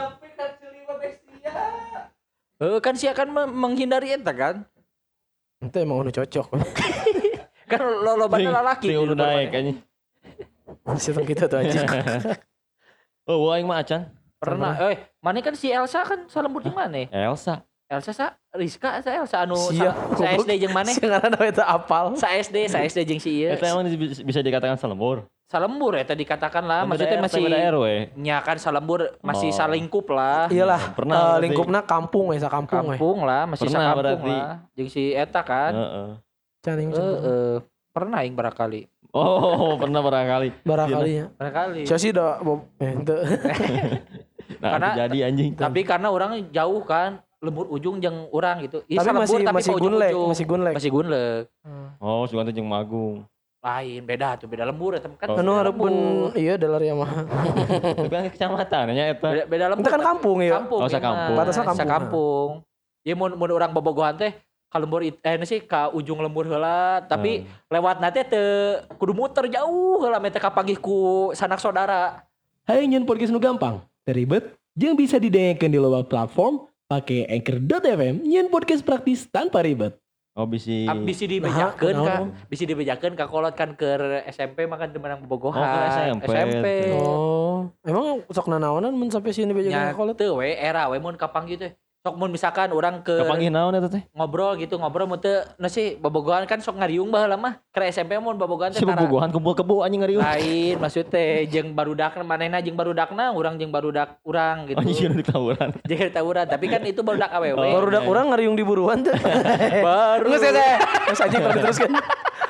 Eh kan sih akan me- menghindari eta kan. itu emang anu cocok Kan lo lo Ting- lalaki. ting di udah luar naik mana. anjing. sistem kita tuh anjing Oh, aing mah acan. Pernah. Eh, mana kan si Elsa kan salembur jeung mana? Elsa. Elsa sa Rizka sa Elsa anu Sia, sa, sa S D jeung mana? sih ngaranna eta apal Sa S D, sa S D jeung si ieu. Eta emang bisa bisa dikatakan salembur. Salembur eta dikatakan lah, Beda maksudnya R T, masih beda R W. nya kan salembur masih Oh. salingkup lah. iyalah Pernah eh, berarti. lingkupna kampung we sakampung we Kampung lah, masih Pernah sakampung berarti. lah. Jeung si eta kan. Heeh. can aing Eh, can pernah. eh, pernah aing barangkali. Oh, pernah barangkali. barangkali ya Barangkali. sia sih da bob eh henteu Nah, Karena- jadi anjing. Tapi karena orang jauh kan, lembur ujung jeung urang gitu. Ih, tapi salembur masih tapi masih ke gunlek ujung-ujung. masih gunlek Masih gunlek. Oh, sugan teh jeung Magung. Lain beda tuh, beda lembur eta kan. Oh. anu beda hareupeun lembur. iya dalar ya mah Tapi kan kecamatan nya eta. Beda, beda lembur. Itu kan tapi- kampung ya? Kampung. Oh, iya sakampung. mah. Batasnya kampung. Sakampung. Ya mun mun urang bobogohan teh ka lembur it- eh sih ka ujung lembur heula, tapi lewat nanti teu kudu muter jauh heula meh teh kapanggih ku sanak saudara. Hai nyen podcast nu gampang, teribet, jeung bisa didengarkan di loba platform pakai anchor dot f m nyen podcast praktis tanpa ribet. Oh, bisi. Ah, Bisi dibejakeun Nah, ka, naon? bisi dibejakeun ka kolot kan ke S M P makan teu menang bobogohan. Oh, ke S M P. S M P. oh emang sok nanaonan mun sampai sini bejakeun Nya ka kolot teu we era we mun kapanggih teh. Sok mun misalkan urang ke Kapanggih naon eta teh? ngobrol gitu ngobrol mun teu na sih bobogohan kan sok ngariung baheula mah. Ke S M P mun bobogohan teh Si tara- bobogohan kumpul kebo anjing ngariung. lain maksud teh jeung barudakna manehna jeung barudakna urang jeung barudak urang gitu. Anjing di tawuran. Jeung tawuran tapi kan itu barudak awewe. Oh, baru dak iya. urang ngariung di buruan tuh baru. geus eta geus anjing baru teruskeun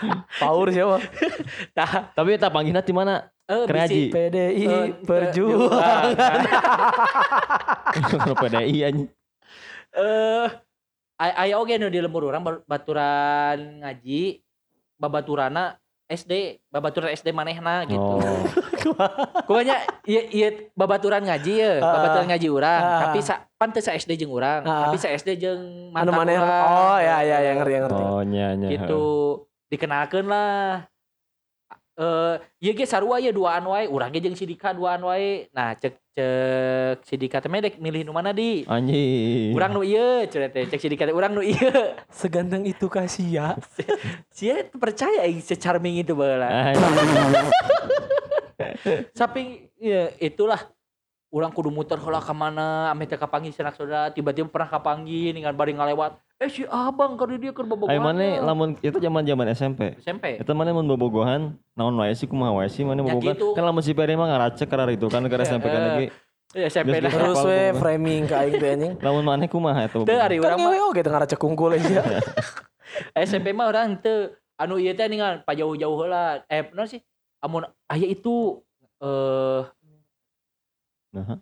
Paur siapa? Tah, Tapi tak panggilna di mana? eh Keren bisi- Haji. P D I eh, Perjuangan. Kalau P D I anjing. Eh, ay- aya oge nu di lembur urang ba- baturan ngaji, babaturana S D, babaturan S D manehna gitu. Oh. Pokoknya ieu ieu babaturan ngaji ya, Ah. babaturan ngaji urang, Ah. tapi sa pan teu sa S D jeung urang, Ah. tapi sa S D jeung Anu mantan maneh. urang. Oh ya ya ya ngerti ngerti. Oh nya nya. Gitu dikenalkeun lah. Eh, ieu ge sarua ya duaan wae, urang ge jeung si Dika duaan wae. Nah, cek cek si Dika teh medek milih nu mana di? Anjing. Urang nu ieu, cenah teh cek si Dika teh urang nu ieu. Seganteng itu Kasia. Sia percaya aing se-charming itu baheula. Anjing. Samping ya itulah urang kudu muter heula ka mana ame teh kapanggih sanak saudara, tiba-tiba pernah kapanggih dengan bari ngalewat. Eh si Abang ka dia keur bobogohan. Ai mana lamun itu zaman-zaman S M P. S M P. Itu mana mun bobogohan naon wae sih kumaha wae sih mana Ya bobogohan. gitu. Kan lamun si Peri mah ngaracek karena itu kan karena S M P kan lagi. Ya S M P Geus dah. Terus Apal we bobogohan. framing ka aing teh anjing. Lamun mana kumaha eta. Teu ari Kan urang mah ngewe oge teu ngaracek kungkul aja. S M P mah urang teu anu ieu teh ningan pajauh-jauh heula. Eh naon sih? Amun aya itu eh Nah.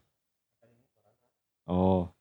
Oh.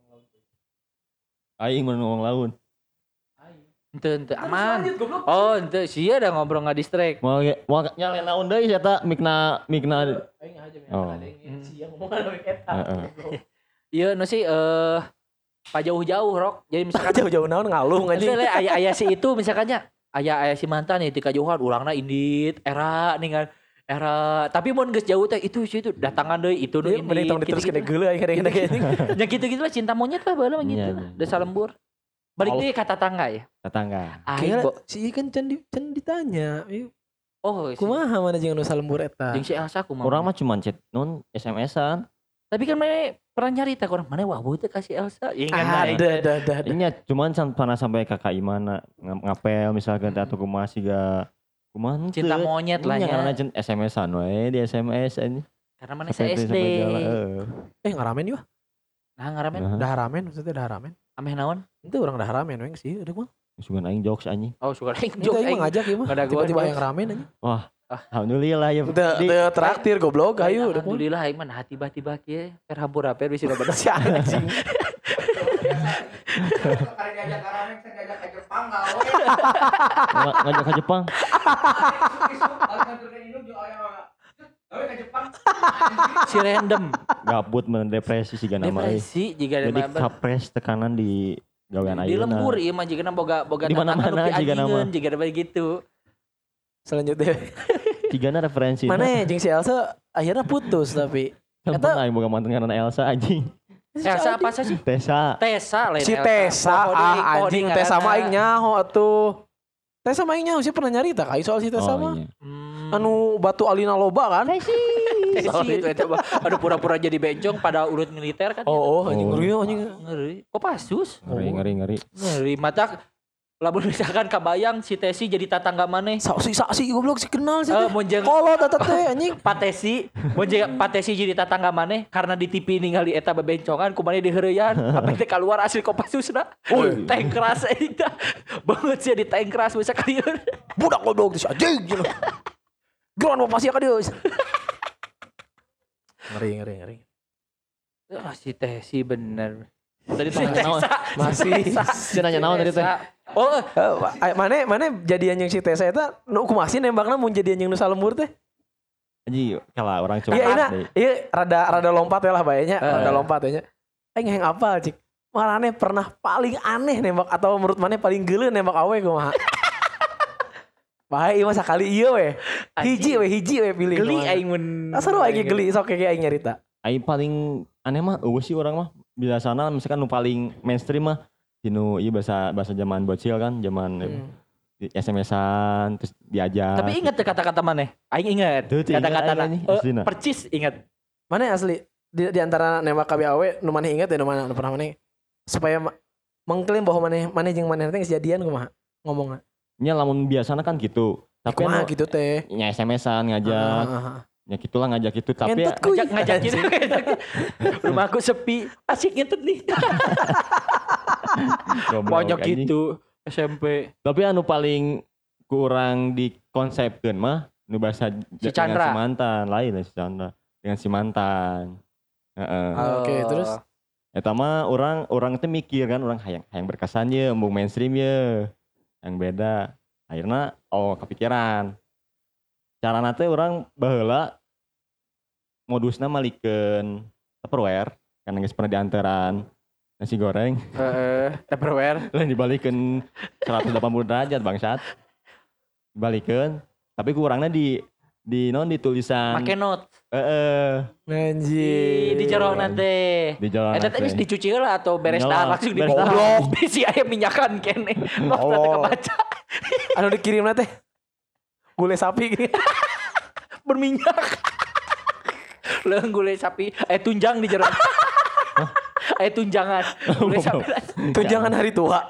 Aing mun ngomong laun. henteu henteu aman. Oh, henteu sia da ngobrol nga distract. Mau ge- mau nyalain naon deui eta mikna mikna. Aing aja Oh. sia ngomong anu eta. Heeh. Ieu nu sih eh pajauh-jauh rok. Jadi misalkan Jauh-jauh naon ngalung anjing. Maksudnya aya aya si itu misalkannya aya aya si mantan ya di kajauhan urangna indit era ningan era tapi mun geus jauh teh itu si itu datangan deui itu nu Ieu mending tong indit diteruskeun gitu-gitu. geuleuh aing kadang-kadang anjing. Ya gitu-gitu lah cinta monyet lah baheula mah gitu. Iya, lah. iya. Desa lembur. Balik deui ka tetangga ya. Tetangga. Aing Kira bo- si kan can di can ditanya. Ieu oh si- kumaha mana jeung anu salembur eta. jeung si Elsa kumaha. Urang mah cuma chat non S M S-an. Tapi kan mana pernah nyarita orang mana wah beuh teh kasih Elsa. Ingat Ada ada ada. ada. Ini cuman san- pernah sampai kakak Imana ng- ngapel misalkan teh atau kumaha siga kumaha henteu. Cinta monyet lah Nya ya. karena jen S M S-an we di S M S ini. Karena mana Sampai saya teu S D. sampai jalan, heeh. Eh ngaramen yuk. Nah ngaramen Nah, Dah ramen maksudnya dah ramen. ameh naon? Itu orang dah ramen weng sih udah mah. sugan aing jokes anjing. Oh suka aing Itu jok aing aing. mah ngajak ieu mah. Kada gua Tiba-tiba jokes. yang ramen aja. Wah, alhamdulillah ya. Teu Di- teu traktir goblok hayu udah mah. Alhamdulillah aing mah nah tiba-tiba kieu per hampura-per bisa loba Si anjing. nga- ngajak ke Jepang. si random Gabut mendepresi siga nama euy. depresi jika Jadi kapres tekanan di gawean di ayeuna. lembur ieu mah jigana boga boga Di mana-mana tatangga nu jigana mah. pianjingeun jigana bae gitu. Selanjutnya. Tigana referensi. Mana ya jeung si Elsa akhirnya putus tapi. Kan Eta- pernah aing boga mantan karena Elsa anjing. Elsa apa sih? Tessa. Tessa lain Si Elsa. Tessa Coding- ah coding anjing Tessa mah ngaranna. aing nyaho atuh. Tessa mah aing nyaho sih pernah nyarita kai soal si Tessa Oh, mah. iya. Hmm. Anu batu alina loba kan? Tessi Sorry. itu eta mah. Aduh pura-pura jadi bencong pada urut militer kan. Oh, oh anjing Oh. ngeri anjing. Ngeri. Kok pasus? Ngeri ngeri ngeri. Ngeri mata lamun misalkan kabayang si Tessi jadi tatangga maneh. Saksi saksi goblok si kenal sih. Eh teh. mun jeung Kolot eta teh anjing. Patesi, mun jeung Patesi jadi tatangga maneh karena di T V ningali eta bebencongan ku maneh diheureuyan, apa teh keluar asli Kopassusna. Oi. Tank keras eta. Banget sih di tank keras bisa kalian. Budak goblok si anjing gitu. Geron mau pasti ka dieu. Ngeri ngeri ngeri. Ah si Tessi bener. Tadi tanya naon? Masih. Dia nanya naon tadi teh? Oh, Eh, mana mana jadian yang si Tessa eta nu kumaha sih nembakna mun jadian yang nu salembur teh? Anjing kalah orang cuma. Iya ina, deh. iya rada rada lompat ya lah bayanya, Eh. rada lompat ya. Aing heng apal cik. Marane pernah paling aneh nembak atau menurut mana paling geuleuh nembak awe kumaha? Bae ieu mah sakali ieu we. Hiji we hiji we pilih. geli kumaha. aing mun. Seru aing geli sok kayak aing nyarita. Aing paling aneh mah eueuh sih orang mah biasana misalkan nu paling mainstream mah dinu ieu bahasa bahasa zaman bocil kan, zaman Hmm. di S M S-an terus diajak. Tapi ingat teh kata-kata mana? Aing ingat. Tuh, tuh, ingat Kata-kata aing nih, na. aslina. Percis ingat. Mana asli di, di antara nembak K B A W nu maneh inget ya nu mana nu pernah maneh supaya ma- mengklaim bahwa maneh maneh jeung maneh teh geus jadian kumaha ngomongna. Nya lamun biasana kan gitu. Tapi Kumaha anu gitu teh. nya S M S-an ngajak. Ah, ah, ah. Ya gitulah ngajak gitu tapi Ngentut kuy. Ngajak ngajakin. Rumahku sepi. Asik ngentut nih. goblok, Banyak anjing. gitu S M P. Tapi anu paling kurang dikonsepkeun mah nu basa Si dengan Chandra. si mantan lain lah si Chandra dengan si mantan. Heeh. Ah, oke, terus? Eta mah orang orang teh mikir kan orang hayang hayang berkesan ye embung mainstream ye. Yang beda. Akhirnya oh kepikiran. Carana teh orang baheula modusna malikeun Tupperware karena geus pernah diantaran nasi goreng Heeh, Tupperware. lain dibalikeun seratus delapan puluh derajat bangsat. Dibalikeun tapi kurangnya di di non di tulisan Make note. heeh Di Anjir. di jero teh. di jalan Eta teh geus dicuci heula atau beres Nyola, dah langsung beres digoblok. dahar. Bisi aya minyakan kene. Not teh Oh. kebaca. Anu dikirimna teh gulai sapi gini. Berminyak. Leung gulai sapi, eh tunjang di jero. Eh tunjangan. Gulai sapi. Tunjangan hari tua.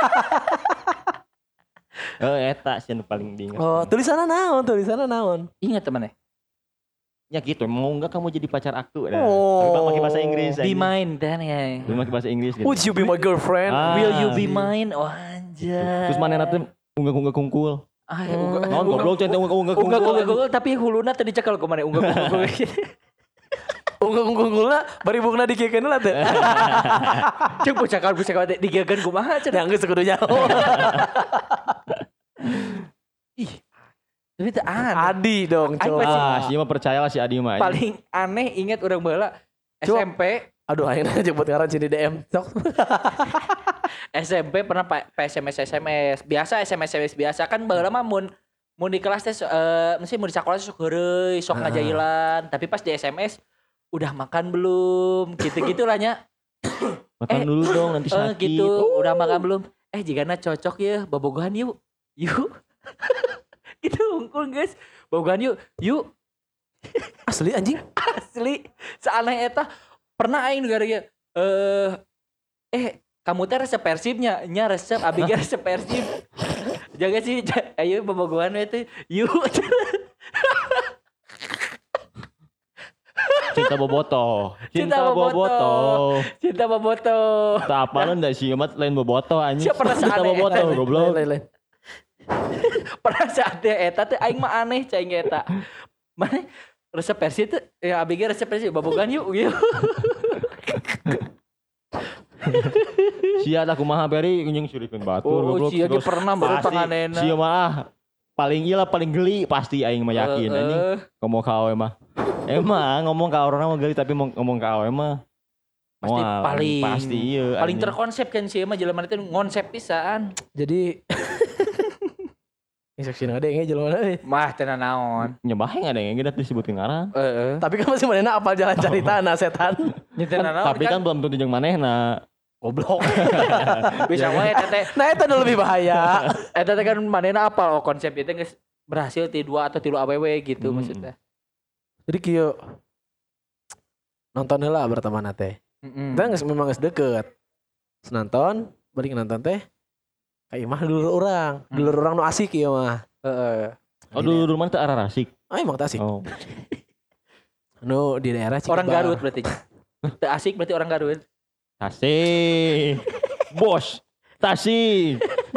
oh eta sih anu paling diingat. Oh, tulisanna naon? Tulisanna naon? Ingat teman eh. Ya gitu mau enggak kamu jadi pacar aku dah. Oh. Tapi bang pakai bahasa Inggris Be mine dan ya. Belum pakai bahasa Inggris gitu. Would you be my girlfriend? Ah. Will you be mine? Oh anjay. Terus mana nanti unggah-unggah kungkul. Ah, Hmm. unggah. Non goblok cantik unggah-unggah Unggah kungkul. unggah unggah tapi huluna tadi cekel ku mana unggah unggah. Unggul-unggulna bari bukna dikikeun lah teh. Cek bocah kan bocah kan digegeun kumaha cenah. Ya geus kudu nyaho. Ih. Tapi teu aneh. Adi dong, Aing coba. masih- Ah, si mah percayalah si Adi mah. Paling aneh ingat urang baheula S Coba. M P. Aduh, ayeuna jemput ngaran di D M. Sok. S M P pernah pa- pa S M S S M S. Biasa S M S S M S biasa kan baheula mah mun mun di kelas teh eh mesti mun di sekolah teh sok heureuy, sok Ah. ngajailan, tapi pas di S M S udah makan belum? Gitu-gitu lah nya. Makan eh, dulu dong nanti Eh sakit. gitu, udah makan belum? Eh jigana cocok ya, bobogohan yuk. Yuk. Gitu unggul guys. Bobogohan yuk. Yuk. Asli anjing. Asli seaneh eta pernah aing gara eh eh kamu teh resep Persibnya nya resep abi ge resep Persib jaga sih ja- ayo bobogohan we teh yuk Cinta boboto. Cinta Cinta boboto. boboto. cinta boboto Tak apa ndak sih amat lain boboto anjing. Siapa pernah Cinta seaneh boboto eta? goblok. Lain, lain. pernah saatnya eta teh aing mah aneh cai eta mana resep Persib teh ya abi ge resep Persib bobogohan yuk yuk Sia da kumaha beri jeung surikeun batur oh goblok. sia ge Terus pernah baru pasti panganena Sia mah paling ieu lah paling geli pasti aing mah yakin Eh, anjing. eh. Ngomong ka awe mah. Emang ngomong ka orang mah geli tapi mau ngomong ka awe mah Pasti moal, paling- pasti iya paling anjing. terkonsep kan sih mah jelema teh ngonsep pisan. Jadi ini saksi nade nge jelema euy. Mah tenan naon. Nyebaheng ada yang kita disebutkeun ngaran. Heeh. Tapi kan masih manehna apal jalan caritana setan. Nya tenan naon. Tapi kan belum tentu jeung manehna. Goblok. bisa wae eta teh. Nah, itu udah lebih bahaya. Eta teh kan manehna apal oh konsep itu geus berhasil ti dua atau tilu awewe gitu Hmm. maksudnya. Jadi kieu nonton heula berteman teh. Heeh. Kita geus memang geus deket. Terus nonton, balik nonton teh. Kayak mah dulur orang, Hmm. dulur orang nu asik ieu mah. Heeh. Oh dulu dulu mana teh arah rasik. Ah emang teh asik. Oh. Nu di daerah Cikebar. Orang Garut berarti. Teu asik berarti orang Garut. Tasik. Bos. Tasik.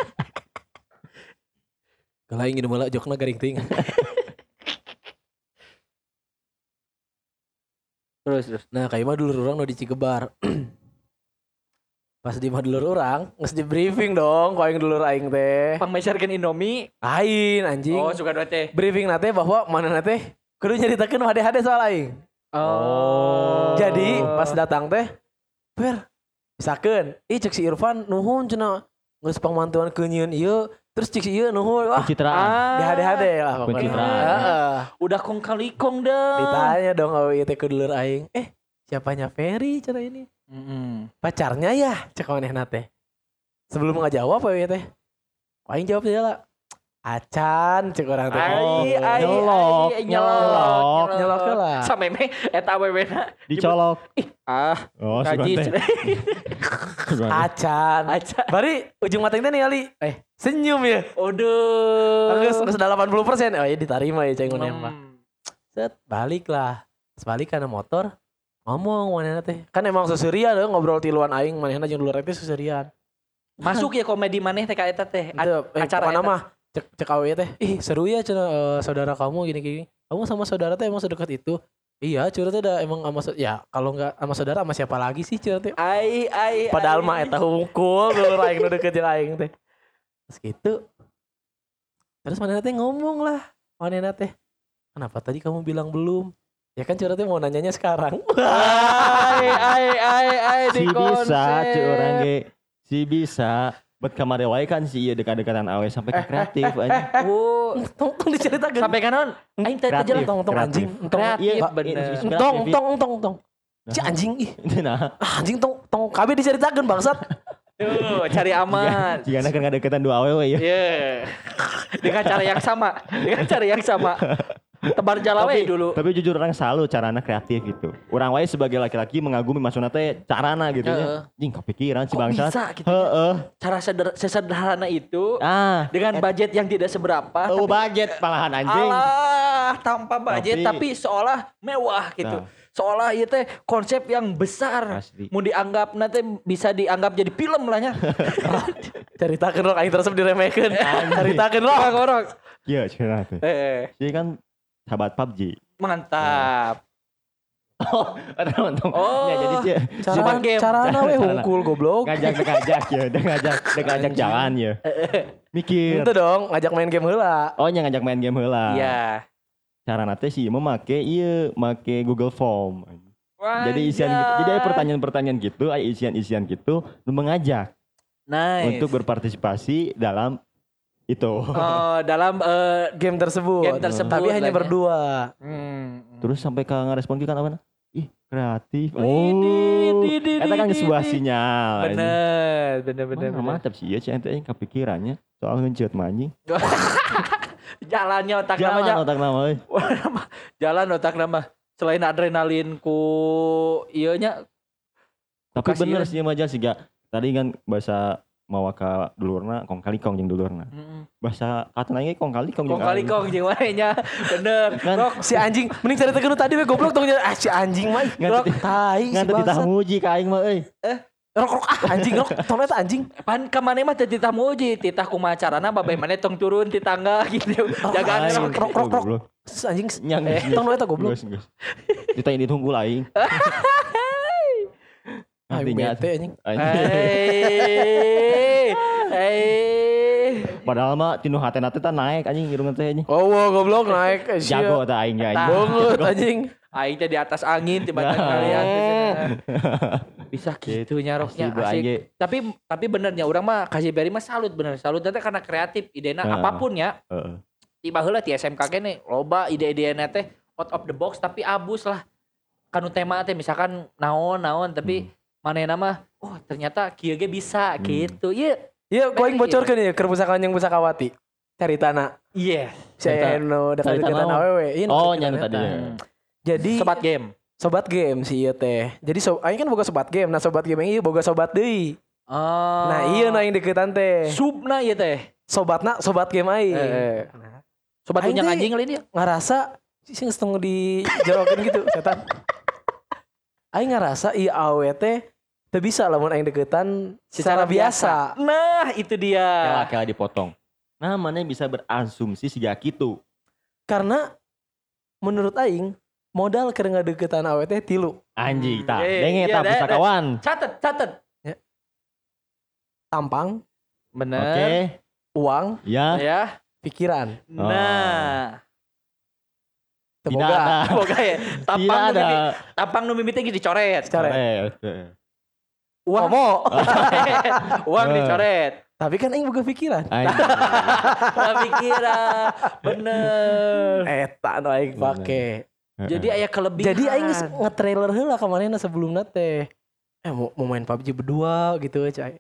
Kalau ingin malah jokna garing ting. Terus terus. Nah, kayak mah dulur orang nu di Cikebar. Pas di mah dulur orang, geus di briefing dong, ku aing dulur aing teh. Pangmeserkeun Indomie. Ain anjing. Oh, suka dua teh. Briefing nate bahwa mana nate kudu nyaritakeun hade-hade soal aing. Oh. Jadi pas datang teh, per, misalkan, ih cek si Irfan nuhun cenah geus pangmantuan keunyeun ieu, terus cek si ieu nuhun, wah Pencitraan. Ah. di hade-hade lah pokoknya. Pencitraan. Heeh. Udah kong kali kong dong. Ditanya dong oh ieu teh ku dulur aing. Eh, siapanya Ferry cenah ini? Heeh. Pacarnya ya, cek manehna teh. Sebelum ngajawab apa ya teh? Aing jawab dia lah. Acan cek orang teh. Ai ai nyolok, ai, nyolok, nyolok heula. Sampai me eta awewena Dicolok. ah Oh, kaji sugan teh. Sugan teh. Acan. aja. Bari ujung mateng teh ningali, eh senyum ya. Aduh. Geus geus delapan puluh persen. Oh ya diterima ya ceng nembak. Hmm. Set, balik lah. Sebalik karena motor ngomong manehna teh. Kan emang susurian deh ngobrol tiluan aing manehna jeung dulur teh susurian. Masuk ya komedi maneh teh ka eta teh. A- Itu eh, acara pokona eta. mah cek cek awe teh ih seru ya cenah eh, saudara kamu gini-gini kamu sama saudara teh emang sedekat itu iya curhat teh udah emang sama sa- ya kalau nggak sama saudara sama siapa lagi sih curhat teh Ai ai. padahal ai. mah eta hungkul dulu aing nu deket jeung aing teh terus gitu terus manehna teh ngomong lah manehna teh kenapa tadi kamu bilang belum ya kan curhat teh mau nanyanya sekarang Ai ai ai ai Si di bisa konsep. cuy orang ge. Si bisa. Buat kamari wae kan si ieu dekat-dekatan awe sampai ke kreatif anjing. Oh, tong tong diceritakeun sampai kanon aing teh teh Kreatif. jelas tong tong kreatif. anjing tong kreatif Iya, bener. inspiratif. tong tong tong tong si anjing ih Nah, ah, anjing tong tong kabeh diceritakeun bangsat Tuh, cari aman. jika kan deketan dua awe we ya. Iya. Dengan cara yang sama, dengan cara yang sama. Tebar jalawe Tapi dulu. Tapi jujur orang selalu carana kreatif gitu. Orang wae sebagai laki-laki mengagumi maksudna teh carana gitu Heeh. ya. Jing kepikiran si Kok bangsat. bisa gitu ya? Heeh. Cara seder- sesederhana itu Ah, dengan budget yang tidak seberapa. oh tapi- budget malahan anjing. Alah, tanpa budget Tapi- tapi, seolah mewah gitu. Nah. Seolah itu teh konsep yang besar. Asli. Mau dianggap nanti bisa dianggap jadi film lah nya. ceritakeun rok aing terus diremehkeun ceritakeun rok Orang-orang. Iya, cerita teh. Eh, Jadi kan sahabat P U B G. mantap. Oh, ada nonton. Oh. Ya, jadi sih cara Sebuah game. carana we Carana. hungkul goblok ngajak ngajak ya, udah ngajak, udah ngajak jalan ya. Mikir. itu dong ngajak main game heula Oh, nya ngajak main game heula. Iya. Cara nate sih mau make iya, make Google Form. Jadi isian Wajah. gitu. Jadi ada pertanyaan-pertanyaan gitu, ada isian-isian gitu, lu mengajak Nice. untuk berpartisipasi dalam itu. Oh, dalam eh, game tersebut game tersebut. tapi hanya lah ya. berdua Hmm. Terus sampai ke ngerespon kan apa? Ih, kreatif. Widih, Oh. widih, Eta kan widih, sebuah widih. sinyal. Bener, bener, bener, Bener, bener. mantap sih ya, sih ente yang kepikirannya soal ngeunceut mah anjing. Jalannya otak Jalan namanya. otak nama euy. Jalan otak nama. Selain adrenalin ku iya nya. Tapi Kasih bener ya. sih mah sih gak. Tadi kan bahasa mawa ka dulurna kong kali kong jeung dulurna. Bahasa katana ge kong kali kong Kong kali aing. kong jeung wae nya. Bener. Kan- Rok, si anjing mending ceritakeun nu tadi we goblok tong ah si anjing mah Ngan rok teu- tai si Ngan teu ditah bangsat muji ka aing mah euy. rok rok ah anjing rok tong eta anjing pan ka maneh mah teu titah muji, titah kumaha carana babeh maneh tong turun ti tangga gitu. Jagaan Aing, rok. rok, rok, rok. goblok. si anjing Nyang eh geus, tong nu eta goblok geus, geus. Ditanya ditunggu lah aing. ah Artinya bete anjing anjing. Hei. Hei. Padahal mah tinu hatena teh tah naik anjing irungna teh anjing. oh wow, goblok naik eh, sia. Jago teh aing ya Tah. anjing. banget anjing Aing teh di atas angin tiba-tiba Nah. kalian teh cenah. Bisa gitu nya roknya Asli, Bu, asik. Aing. Tapi tapi benernya urang mah kasih beri mah salut bener. Salut teh karena kreatif idena Heeh. apapun ya. Heeh. Tiba heula ti S M K kene loba ide-idena teh out of the box tapi abus lah. Kanu tema teh misalkan naon-naon tapi manehna mah oh ternyata kieu ge bisa Hmm. gitu. Iya. iya ku aing bocorkeun ya keur pusaka jeung pusakawati caritana Iya. si Cerita- anu cerita dekat-dekatan naon? awewe iya Oh, dekat-dekatan nyana eta. tadi ya. jadi Sobat game. sobat game sih ieu teh jadi so aing kan boga sobat game nah sobat game yang ieu boga sobat deui Oh. nah iya nah yang deketan teh subna ieu teh. sobatna sobat game aing Eh. Nah, Sobat Aing unyang teh- anjing lain dia. ngerasa sih setengah dijawakin gitu setan aing ngerasa iya awe teh teu bisa lamun aing deketan secara, biasa. Nah, itu dia. Kela-kela dipotong. Nah, mana bisa berasumsi siga kitu. Karena menurut aing modal keur ngadeukeutan awe teh tilu Anjing tah. Eh, Denge iya, tah deh, pusakawan. Catet, catet. tampang Bener. Oke. uang Ya. Ya. pikiran Nah. teu Tidak boga ada. Boga ya. Tampang Tidak nu ada. mimpi, tampang nu mimiti ge dicoret. Coret. Coret. Uang. Komo. Uang Eh. dicoret. Tapi kan aing boga pikiran Anjing. Nah, pikiran. Bener. eta nu aing pake Jadi aya kelebihan. jadi aing geus nge-trailer heula ka manehna sebelumna teh eh mau, mau main P U B G berdua gitu cai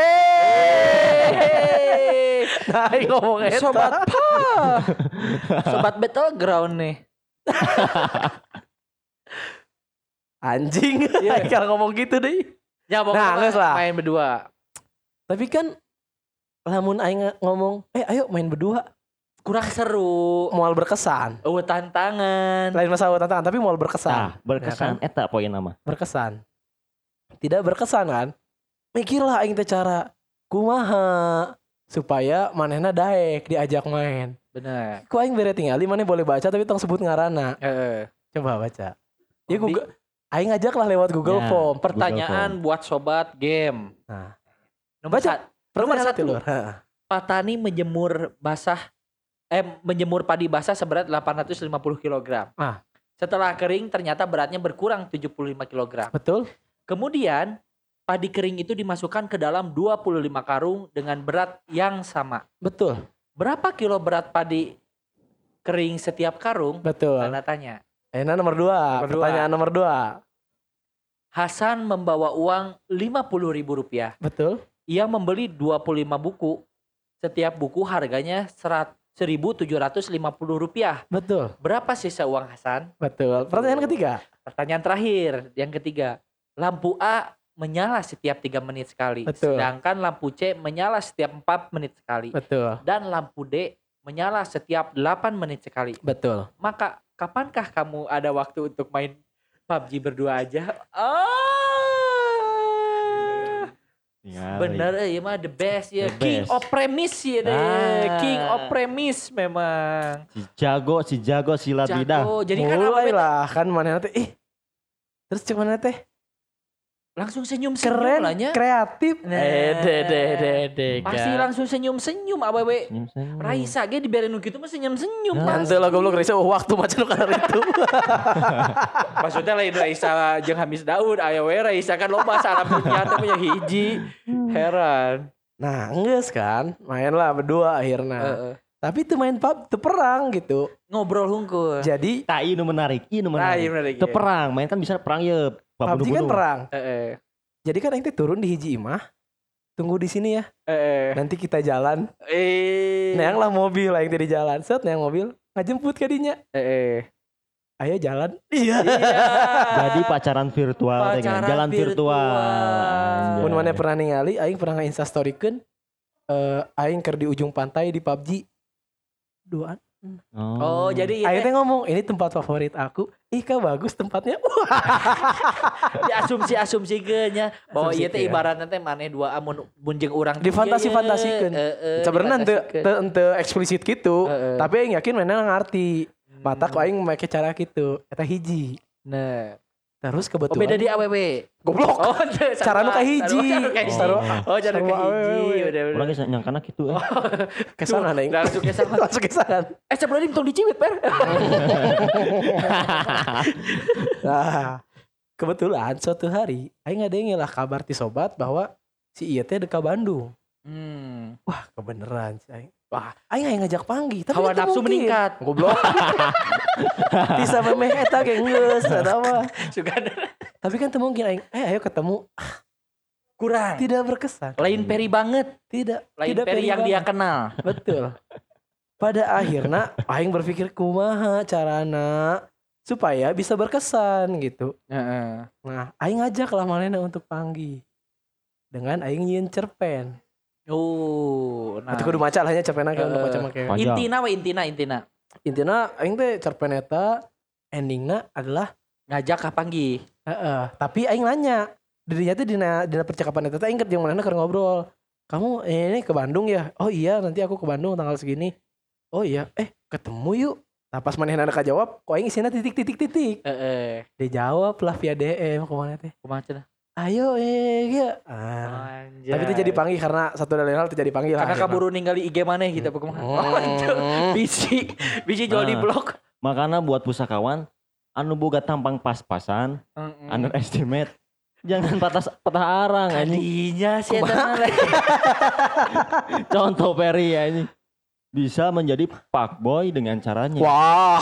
eh nah aing ngomong eta sobat pa. Sobat battleground nih. anjing Iya. aing kalau ngomong gitu deh Ya pokoknya Nah, geus lah. main berdua. tapi kan lamun aing ngomong eh ayo main berdua Kurang seru. moal berkesan Oh, tantangan. lain masalah tantangan tapi moal berkesan Nah, berkesan eta poin nama. berkesan tidak berkesan kan mikirlah aing teh cara kumaha supaya manehna daek diajak main. Bener. Ku aing bere tingali maneh boleh baca tapi tong sebut ngaranna. Heeh. Coba baca. Ya Di- Google aing ngajak lah lewat Google Ya. Form. Pertanyaan buat sobat game. Nah, Nomor, Baca. sat- nomor pertanyaan satu. tilur. Heeh. Petani menjemur basah eh menjemur padi basah seberat delapan ratus lima puluh kilogram. Ah. Setelah kering ternyata beratnya berkurang tujuh puluh lima kilogram. Betul? Kemudian padi kering itu dimasukkan ke dalam dua puluh lima karung dengan berat yang sama. Betul. Berapa kilo berat padi kering setiap karung? Betul. Tanda tanya. Ayeuna nomor dua. Nomor dua. Pertanyaan nomor dua. Hasan membawa uang lima puluh ribu rupiah. Betul? Ia membeli dua puluh lima buku. Setiap buku harganya seribu tujuh ratus lima puluh rupiah. Betul. Berapa sisa uang Hasan? Betul. Pertanyaan ketiga. Pertanyaan terakhir, yang ketiga. Lampu A menyala setiap tiga menit sekali. Betul. Sedangkan lampu C menyala setiap empat menit sekali. Betul. Dan lampu D menyala setiap delapan menit sekali. Betul. Maka kapankah kamu ada waktu untuk main P U B G berdua aja? Ah, Tinggal. bener eh, mah the best ya. The King best. of premise ya deh. Ah. King of premise memang. Si jago, si jago silat lidah. Jago. Jadi kan Mulai apa lah kan manehna teh ih. Terus cuman teh langsung senyum-senyum keren, lah nya. kreatif. Nah. Eh de de de de. Pasti langsung senyum-senyum awewe. Senyum-senyum. Raisa ge dibiarin nu kitu mah senyum-senyum. Nah. pasti. Nanti lah goblok Raisa oh, waktu macam karena itu. Maksudnya lain Raisa jeung Hamis Daud aya we Raisa kan loba salah punya teh punya hiji. Heran. Nah, geus kan, main lah berdua akhirnya. Heeh. Tapi itu main pub, itu perang gitu. Ngobrol hungkul. Jadi Nah, ini menarik, ini Nah, menarik. iya bener Itu perang, main kan bisa perang ya. P U B G kan perang. Heeh. Jadi kan aing teh turun di hiji imah. Tunggu di sini ya. Heeh. Nanti kita jalan. Eh. Neang lah mobil aing teh di jalan. Set neang mobil ngajemput ka dinya. Heeh. Ayo jalan. Iya. Jadi pacaran virtual dengan Pacaran jalan virtual. virtual. Mun maneh pernah ningali aing pernah nge-instastorikeun eh aing keur di ujung pantai di P U B G. Duaan. Oh, jadi ieu Aing teh teh ngomong, ini tempat favorit aku. Ih, kah bagus tempatnya. diasumsi-asumsi nya bahwa ieu teh Asumsikeun. ibaratna teh maneh dua mun mun jeung urang Difantasi-fantasikeun. Sebenarnya ente ente eksplisit gitu. Heeh. Tapi aing yakin mana ngarti. Mata ku aing make cara gitu. Eta hiji. Nah. Terus Oh kebetulan beda di A W W. goblok. Oh, Cara nu ka hiji. Cara nu ka hiji. Sarua- Oh, cara nu ka sarua hiji. awewe. Udah, udah. Orang geus nyangkana kitu eh. Kesana aing. Langsung ke sana. Langsung kesana. Eh, sebelum tong dicibit, Per. Nah, kebetulan suatu hari aing ngadengin lah kabar ti sobat bahwa si ieu teh deka Bandung. Hmm. Wah, kebeneran sih aing. Wah, aing aing ngajak panggil, tapi Hawa itu nafsu mungkin. meningkat. Goblok. Bisa memeh eta ge geus eta mah. Sugan Tapi kan teu mungkin aing, eh ayo ketemu. kurang. Tidak berkesan. Lain Peri banget. Tidak, Lain tidak Peri yang dia banget. kenal. Betul. Pada akhirnya aing berpikir kumaha carana supaya bisa berkesan gitu. Heeh. Nah, aing ngajak lah manehna untuk panggil. Dengan aing nyieun cerpen. Oh, nah. Nah. Kudu maca lah nya cerpen Eh, untuk maca make. Panjang. Intina we intina intina. Intina aing teh cerpen eta endingna adalah Ngajak ka panggi. heeh, tapi aing nanya. Dirinya tuh dina dina percakapan eta teh aing jeung manehna keur ngobrol. Kamu eh, ini ke Bandung ya? Oh iya, nanti aku ke Bandung tanggal segini. Oh iya, eh ketemu yuk. Nah pas manehna ka jawab, kok aing isina titik-titik-titik. Heeh. Dijawab lah via D M kemana teh. Kumaha cenah? Ayo eh ya. Ah. Anjay. Tapi itu jadi panggil karena satu dan lain hal terjadi panggil. karena kaburu ningali I G maneh gitu apa kumaha. Hmm. Oh, itu. Bisi, bisi jual di Nah. blog. Makanya buat pusakawan anu boga tampang pas-pasan, Heeh. underestimate. Jangan patah patah arang anjing. Kadinya sih eta mah. Contoh Peri anjing. Bisa menjadi fuckboy dengan caranya. Wah.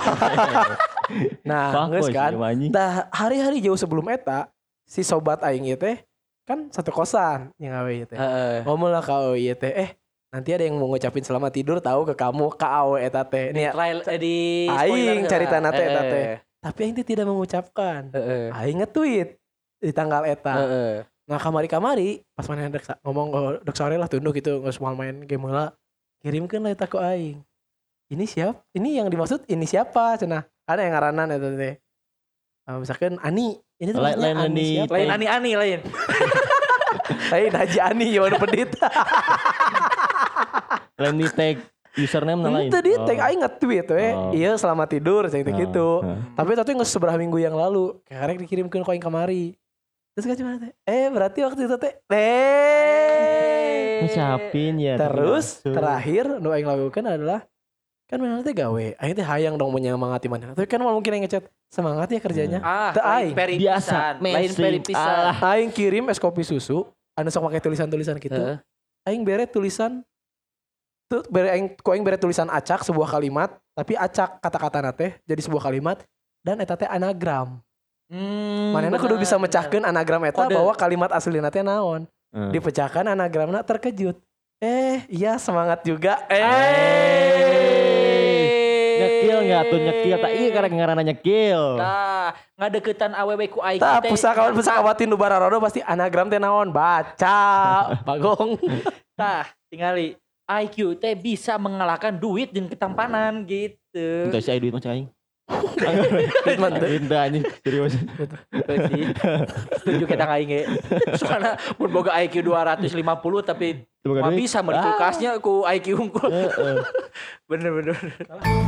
Nah, Fuckboy geus sih kan. emang anjing. Dah hari-hari jauh sebelum eta si sobat aing ieu teh kan satu kosan yang awe ieu teh. Heeh. Ngomong lah ka awe ieu teh, eh nanti ada yang mau ngucapin selamat tidur tahu ke kamu ka awe eta teh. Nih Trial eh, di aing carita na teh eta Heeh. teh. Tapi aing teh tidak mengucapkan. Heeh. Aing nge-tweet di tanggal eta. Heeh. Nah kamari-kamari pas mana dek sa- ngomong oh, dek sore lah tunduk gitu nggak semua main game lah. Kirimkan lah eta ku aing. Ini siapa? Ini yang dimaksud ini siapa? Cenah. Ada yang ngaranan eta teh. Ah, misalkan Ani. Ini tuh Lain- maksudnya lain Ani di- siapa? Lain ani-ani lain. Lain Haji Ani yang pedit. Lain di tag username na lain. Itu di tag aing nge-tweet we. Oh. Iya selamat tidur cek Oh. gitu. Oh. Tapi itu nggak seberapa minggu yang lalu. Karek dikirimkeun ku aing kamari. Terus kan cuma teh. Eh berarti waktu itu teh. Eh. Ngucapin ya. Terus tapi langsung. terakhir nu aing lakukan adalah kan mana teh gawe. Aing teh hayang dong menyemangati mana. Tapi kan mau mungkin aing ngechat semangat ya kerjanya. Ah, Teu lain aing. peri Biasa, pisan, lain mainstream. peri pisan. Alah. Aing kirim es kopi susu. Anu sok pakai tulisan-tulisan gitu. Heeh. Aing bere tulisan tuh bere aing ku aing bere tulisan acak sebuah kalimat, tapi acak kata-kata teh jadi sebuah kalimat dan eta teh anagram. Hmm, Manehna kudu bener, bisa bener. mecahkeun anagram eta Kode. bahwa kalimat aslina teh naon. Hmm. Dipecahkan anagramna terkejut. Eh, iya semangat juga. Eh. Nyekil nggak tuh nyekil? Tak iya karena ngaranna nyekil. Tah, ngadeukeutan awewe ku aing Tah teh. pusakawan pusakawatin nu bararodo pasti anagram teh naon? Baca, Bagong. Tah, tingali I Q teh bisa mengalahkan duit jeung ketampanan gitu. Entah si duit mah cai. Treatment teh. Entah anjing serius. Betul sih. Setuju kita aing ge. Soalna mun boga I Q dua ratus lima puluh tapi Boga mah duit. bisa meureun kulkasnya ku I Q unggul. Heeh. Bener bener.